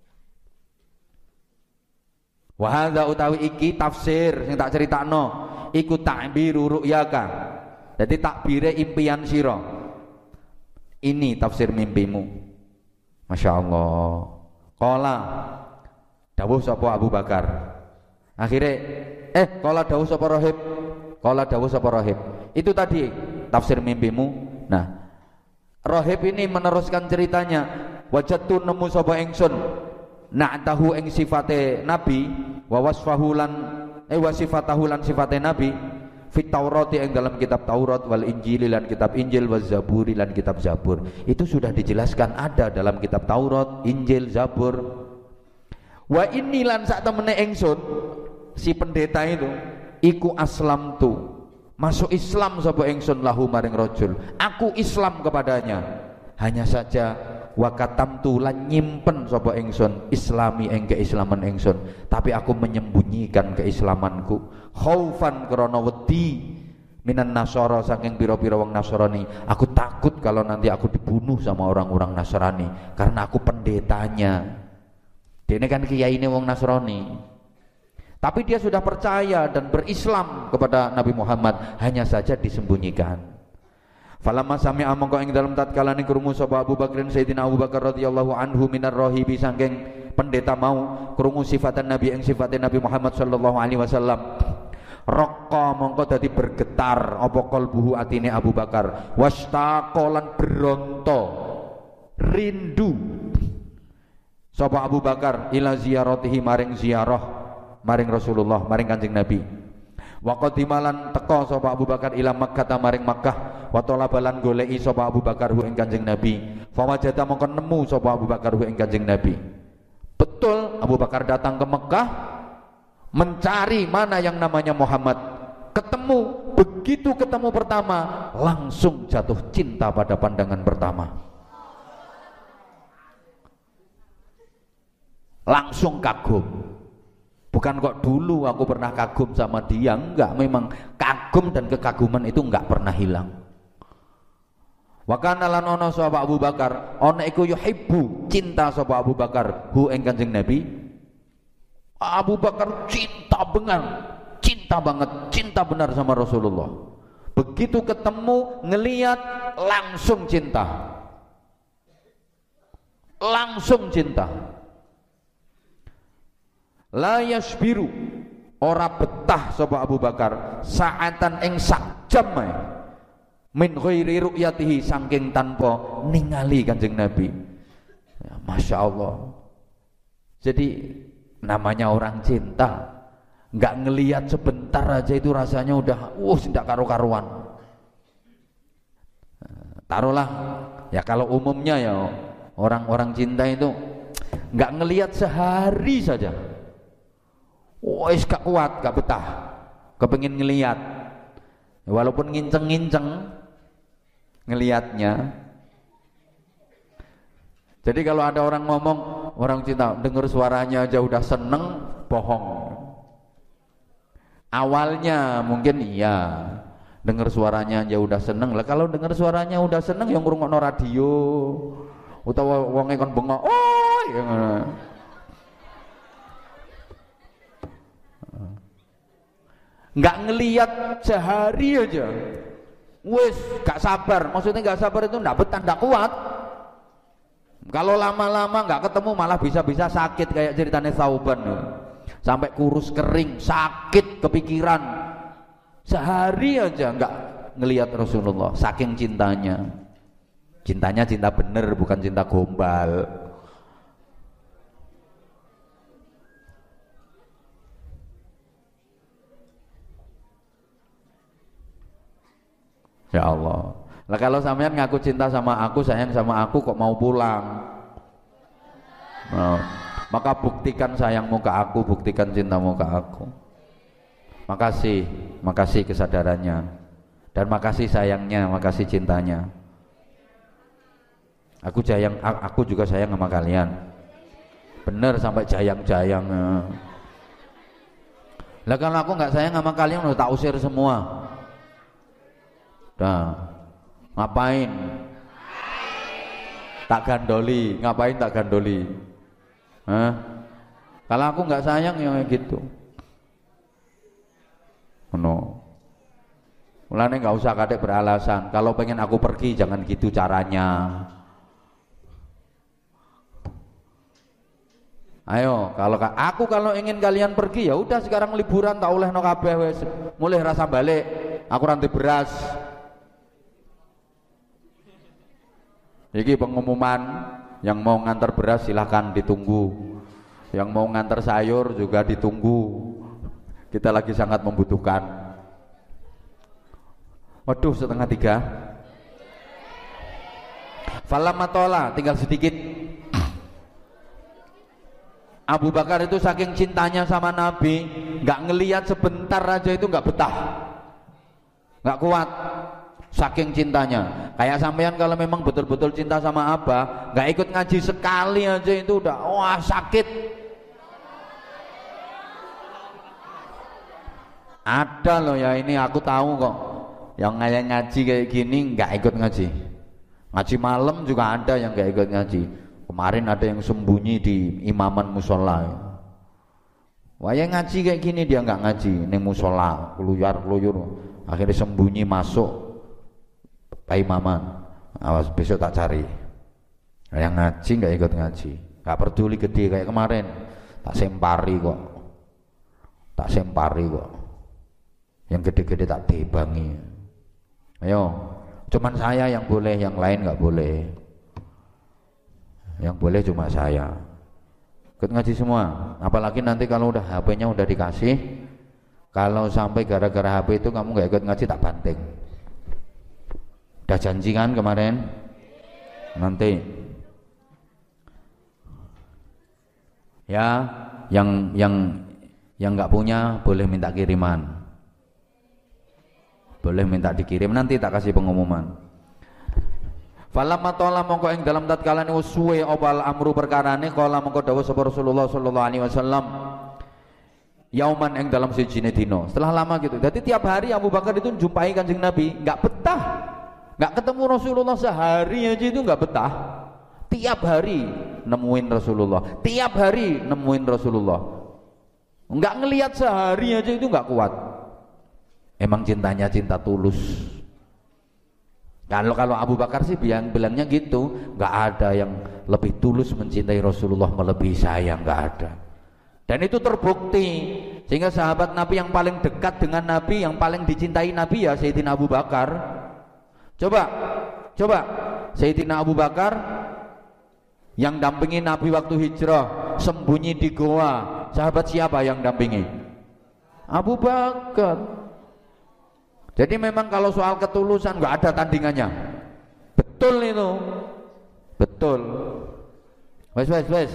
Wa hadza utawi iki tafsir sing tak critakno iku ta'biru ru'yaka. Jadi takbire impian sira. Ini tafsir mimpimu. Masya Allah. Qala dawuh sapa Abu Bakar. Akhirnya eh qala dawuh sapa Rahib. Qala dawuh sapa Rahib. Itu tadi tafsir mimpimu. Nah, Rahib ini meneruskan ceritanya. Wajadtu nemu sapa ingsun na'tahu ing sifate nabi wa wasfahu lan eh wasifatahu lan sifate nabi fit Taurati ing dalam kitab Taurat wal Injil lan kitab Injil waz Zaburi lan kitab Zabur. Itu sudah dijelaskan ada dalam kitab Taurat, Injil, Zabur. Wa inni lan sak temene ingsun si pendeta itu iku aslam tu masuk Islam sapa ingsun lahu maring rajul, aku Islam kepadanya. Hanya saja wa katamtu lan nyimpen sapa ingsun islami ing keislaman ingsun, tapi aku menyembunyikan keislamanku khaufan krana wedi minan nasara saking pira-pira wong Nasrani. Aku takut kalau nanti aku dibunuh sama orang-orang Nasrani karena aku pendetanya. Dene kan kiyaine wong Nasrani. Tapi dia sudah percaya dan berislam kepada Nabi Muhammad, hanya saja disembunyikan. Falamma sami'a mongko ing dalam tatkalane krungu sapa Abu Bakrin Sayyidina Abu Bakar radhiyallahu anhu minar rahibi saking pendeta mau krungu sifatan Nabi ing sifatnya Nabi Muhammad sallallahu alaihi wasallam. Raqqa mongko dadi bergetar apa qalbuhu atine Abu Bakar, wastaqalan beronto rindu sapa Abu Bakar ila ziyaratihi maring ziarah maring Rasulullah, maring Kanjeng Nabi. Wa qadimalan teka sapa Abu Bakar ila Makkah maring Makkah, wa talabalan goleki sapa Abu Bakar hu ing Kanjeng Nabi. Fa wajada mongko nemu sapa Abu Bakar hu ing Kanjeng Nabi. Betul Abu Bakar datang ke Makkah mencari mana yang namanya Muhammad. Ketemu, begitu ketemu pertama langsung jatuh cinta pada pandangan pertama. Langsung kagum. Bukan kok dulu aku pernah kagum sama dia, enggak, memang kagum dan kekaguman itu enggak pernah hilang. Wa kana lan ana sapa Abu Bakar, ana iku yuhibbu, cinta sapa Abu Bakar hu ing Kanjeng Nabi. Abu Bakar cinta benar, cinta banget, cinta benar sama Rasulullah. Begitu ketemu, ngelihat langsung cinta. Langsung cinta. La yasbiru ora betah sapa Abu Bakar saatan ing sak jam ae min ghairi ru'yatihi saking tanpa ningali Kanjeng Nabi. Ya, Masya Allah. Jadi namanya orang cinta nggak ngelihat sebentar aja itu rasanya udah uh tidak karu-karuan. Taruhlah ya kalau umumnya ya orang-orang cinta itu nggak ngelihat sehari saja, wes gak kuat, gak betah, kepengin ngelihat, walaupun nginceng-nginceng ngelihatnya. Jadi kalau ada orang ngomong orang cinta dengar suaranya aja udah seneng, bohong. Awalnya mungkin iya, dengar suaranya aja udah seneng lah. Kalau dengar suaranya udah seneng yang ngrungokno radio utawa wonge kon bengok, oh ya ngono. Nggak ngelihat sehari aja, wes gak sabar. Maksudnya gak sabar itu nggak betah, nggak kuat. Kalau lama-lama nggak ketemu malah bisa-bisa sakit kayak ceritanya Thauban, sampai kurus kering, sakit kepikiran. Sehari aja nggak ngelihat Rasulullah, saking cintanya. Cintanya cinta bener, bukan cinta gombal. Ya Allah. Lah kalau sampean ngaku cinta sama aku, sayang sama aku, kok mau pulang? Nah, maka buktikan sayangmu ke aku, buktikan cintamu ke aku. Makasih, makasih kesadarannya, dan makasih sayangnya, makasih cintanya. Aku sayang, aku juga sayang sama kalian. Bener sampai jayang-jayang. Lah kalau aku nggak sayang sama kalian, udah tak usir semua. Dah. Ngapain? Tak gandoli, ngapain tak gandoli? Hah? Kalau aku nggak sayang ya gitu. No. Mulane nggak usah kadek beralasan. Kalau pengen aku pergi jangan gitu caranya. Ayo, kalau aku kalau ingin kalian pergi ya udah sekarang liburan tak oleh no kabeh wis. Mulai rasa balik. Aku rantai beras. Ini pengumuman, yang mau ngantar beras silahkan ditunggu, yang mau ngantar sayur juga ditunggu, kita lagi sangat membutuhkan. Waduh, setengah tiga. Falamatola, tinggal sedikit. Abu Bakar itu saking cintanya sama Nabi, nggak ngelihat sebentar aja itu nggak betah, nggak kuat. Saking cintanya, kayak sampean kalau memang betul-betul cinta sama Abah, nggak ikut ngaji sekali aja itu udah wah sakit. Ada loh ya, ini aku tahu kok, yang kayak ngaji kayak gini nggak ikut ngaji. Ngaji malam juga ada yang nggak ikut ngaji. Kemarin ada yang sembunyi di imaman musola. Wah yang ngaji kayak gini dia nggak ngaji, ning musola, keluyar keluyur, akhirnya sembunyi masuk. Pak Imaman, awas besok tak cari. Yang ngaji nggak ikut ngaji, nggak peduli gede kayak kemarin, tak sempari kok, tak sempari kok. Yang gede-gede tak tebangi. Ayo, cuman saya yang boleh, yang lain nggak boleh. Yang boleh cuma saya. Ikut ngaji semua. Apalagi nanti kalau udah H P-nya udah dikasih, kalau sampai gara-gara H P itu kamu nggak ikut ngaji tak banting. Udah janji kan kemarin? Nanti ya yang yang yang nggak punya boleh minta kiriman, boleh minta dikirim, nanti tak kasih pengumuman. Falamma tola mongko ing dalam tatkala niku suwe opal amru perkarane kala mongko dawuh sapa Rasulullah sallallahu alaihi wasallam yauman ing dalam sijine dina. Setelah lama gitu. Jadi tiap hari Abu Bakar itu jumpai Kanjeng Nabi, enggak betah. Enggak ketemu Rasulullah sehari aja itu enggak betah. Tiap hari nemuin Rasulullah, tiap hari nemuin Rasulullah. Enggak ngelihat sehari aja itu enggak kuat. Emang cintanya cinta tulus. Kalau kalau Abu Bakar sih bilang bilangnya gitu, nggak ada yang lebih tulus mencintai Rasulullah melebihi saya, nggak ada. Dan itu terbukti, sehingga sahabat Nabi yang paling dekat dengan Nabi, yang paling dicintai Nabi ya Sayyidina Abu Bakar. Coba, coba Sayyidina Abu Bakar yang dampingi Nabi waktu hijrah, sembunyi di goa, sahabat siapa yang dampingi? Abu Bakar. Jadi memang kalau soal ketulusan nggak ada tandingannya. Betul itu, betul. Wes wes wes.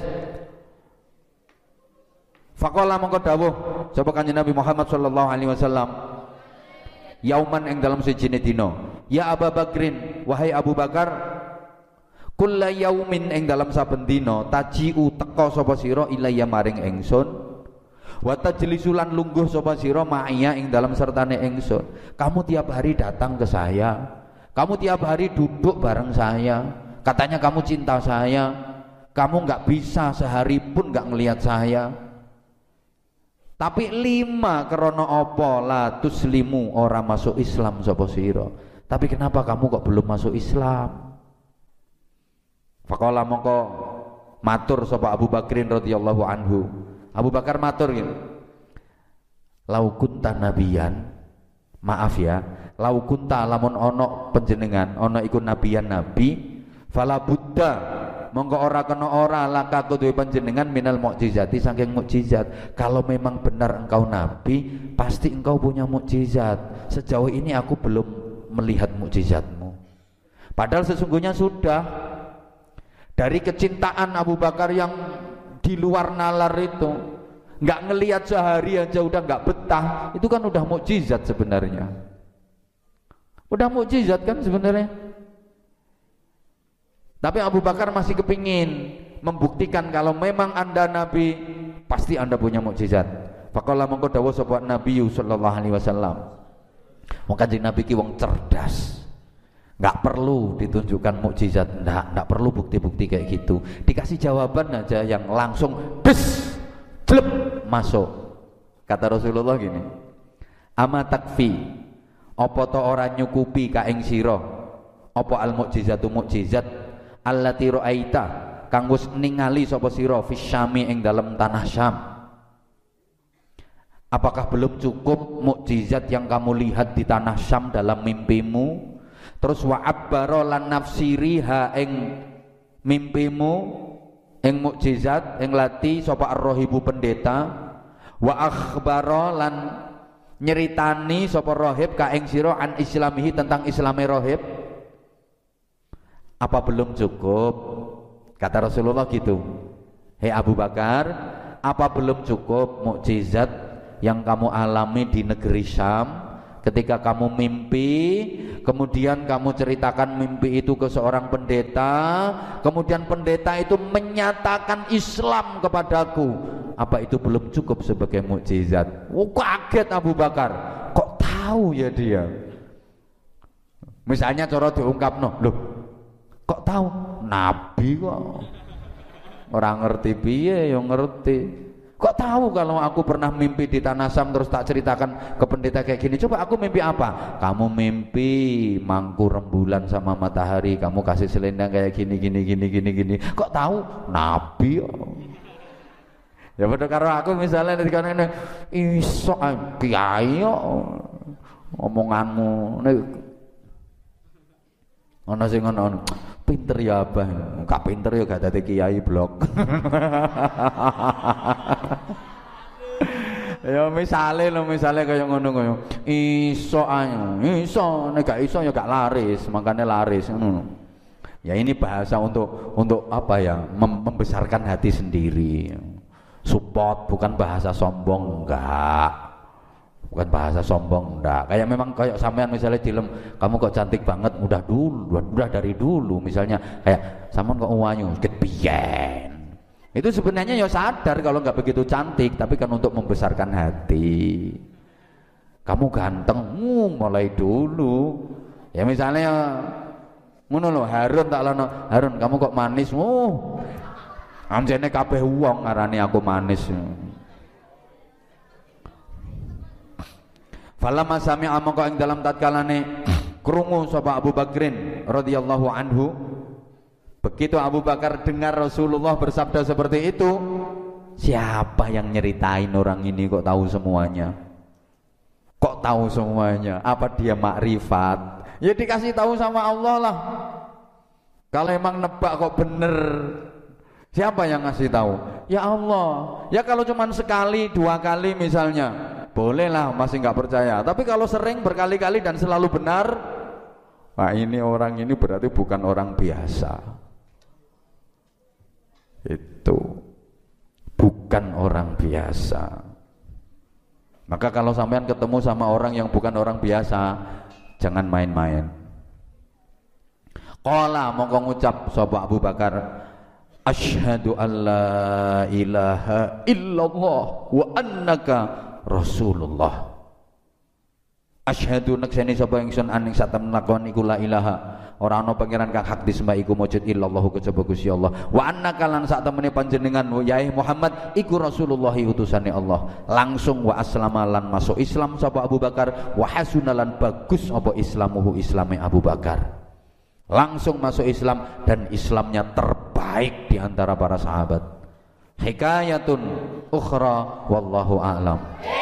Faqala mongko dawuh sapa Kanjeng Nabi Muhammad sallallahu alaihi wasallam. Yauman ing dalam sejine dina. Ya Abu Bakrin, wahai Abu Bakar, kulla yaumin ing dalam saben dina tajiu teka sapa sira ilayya maring ingsun. Wa tajlisulan lungguh sapa sira ma'iya ing dalam sertane ingsun. Kamu tiap hari datang ke saya. Kamu tiap hari duduk bareng saya. Katanya kamu cinta saya. Kamu enggak bisa sehari pun enggak ngelihat saya. Tapi lima krono opo la tuslimu ora masuk Islam sapa sira. Tapi kenapa kamu kok belum masuk Islam? Faqala mongko matur sapa Abu Bakrin radhiyallahu anhu. Abu Bakar matur gitu. Lau kunta nabiyan, maaf ya, lau kunta lamun ono panjenengan, ono iku nabiyan nabi, fala buddha monggo ora kena ora laka kudu panjenengan minal mukjizati saking mukjizat. Kalau memang benar engkau nabi, pasti engkau punya mukjizat. Sejauh ini aku belum melihat mukjizatmu. Padahal sesungguhnya sudah. Dari kecintaan Abu Bakar yang di luar nalar itu, nggak ngelihat sehari aja udah nggak betah, itu kan udah mukjizat sebenarnya. Udah mukjizat kan sebenarnya. Tapi Abu Bakar masih kepingin membuktikan kalau memang anda nabi, pasti anda punya mukjizat. Faqala mongko dawuh sapa Nabi sallallahu alaihi wasallam. Wong Kanjeng Nabi ki wong cerdas. Enggak perlu ditunjukkan mukjizat, enggak, enggak perlu bukti-bukti kayak gitu. Dikasih jawaban aja yang langsung des gleb masuk. Kata Rasulullah gini. Ama takfi apa to ora nyukupi ka ing sira apa al mukjizatu mukjizat allati ra'aita kang wis ningali sapa sira fisyami ing dalem tanah Syam. Apakah belum cukup mukjizat yang kamu lihat di tanah Syam dalam mimpimu? Terus wa abbara lan nafsiri ha ing mimpimu ing mukjizat ing lati sapa ar-rahibu pendeta wa akhbara lan nyeritani sapa rahib ka ing sira an islamihi tentang islame rahib. Apa belum cukup? Kata Rasulullah gitu. Hei Abu Bakar, apa belum cukup mukjizat yang kamu alami di negeri Syam ketika kamu mimpi, kemudian kamu ceritakan mimpi itu ke seorang pendeta, kemudian pendeta itu menyatakan Islam kepadaku. Apa itu belum cukup sebagai mukjizat? Oh, kaget Abu Bakar. Kok tahu ya dia? Misalnya cara diungkapno, loh kok tahu? Nabi kok. Orang ngerti piye ya ngerti. Kok tahu kalau aku pernah mimpi di tanah Syam terus tak ceritakan ke pendeta kayak gini? Coba aku mimpi apa? Kamu mimpi mangku rembulan sama matahari, kamu kasih selendang kayak gini gini gini gini gini. Kok tahu? Nabi kok. Ya padha karo aku misalnya ketika ngene iso kiai kok omonganmu nek ana sing ngono pinter ya abah, gak pinter ya gak dadi kiai blok. Ya misale lho misale kaya ngono kaya iso ayo iso nek gak iso ya gak laris, makane laris ngono. Ya ini bahasa untuk untuk apa ya, mem membesarkan hati sendiri. Support, bukan bahasa sombong, enggak. Bukan bahasa sombong, enggak. Kayak memang kayak sampean misalnya dilem, kamu kok cantik banget, udah dulu, udah dari dulu misalnya kayak sampean kok wanyu, kepiyen. Itu sebenarnya ya sadar kalau nggak begitu cantik, tapi kan untuk membesarkan hati. Kamu ganteng, uh, mulai dulu. Ya misalnya ngono lho, Harun tak lono, Harun kamu kok manis, uh. Anjene kabeh wong ngarani aku manis. Falamma sami'a mongko ing dalam tatkalane krungu sapa Abu Bakrin radhiyallahu anhu, begitu Abu Bakar dengar Rasulullah bersabda seperti itu, siapa yang nyeritain orang ini kok tahu semuanya? Kok tahu semuanya? Apa dia makrifat? Ya dikasih tahu sama Allah lah. Kalau emang nebak kok bener, siapa yang ngasih tahu? Ya Allah. Ya kalau cuma sekali, dua kali misalnya, bolehlah masih nggak percaya. Tapi kalau sering berkali-kali dan selalu benar, wah ini orang ini berarti bukan orang biasa. Itu bukan orang biasa. Maka kalau sampean ketemu sama orang yang bukan orang biasa, jangan main-main. Qala mongko ngucap sapa Abu Bakar, asyhadu alla ilaha illallah wa annaka rasulullah. Asyhadu nekseni sapa ingsun aning satemene lakon iku la ilaha ora ana pangeran kang hak disembah iku mujud illallah kejaba Gusti Allah wa annaka lan satemene panjenengan yai Muhammad iku rasulullah utusane Allah. Langsung wa aslama lan masuk Islam sapa Abu Bakar wa hasunalan bagus apa islamuhu islame Abu Bakar. Langsung masuk Islam dan Islamnya terbaik di antara para sahabat. Hikayatun ukhra wallahu a'lam.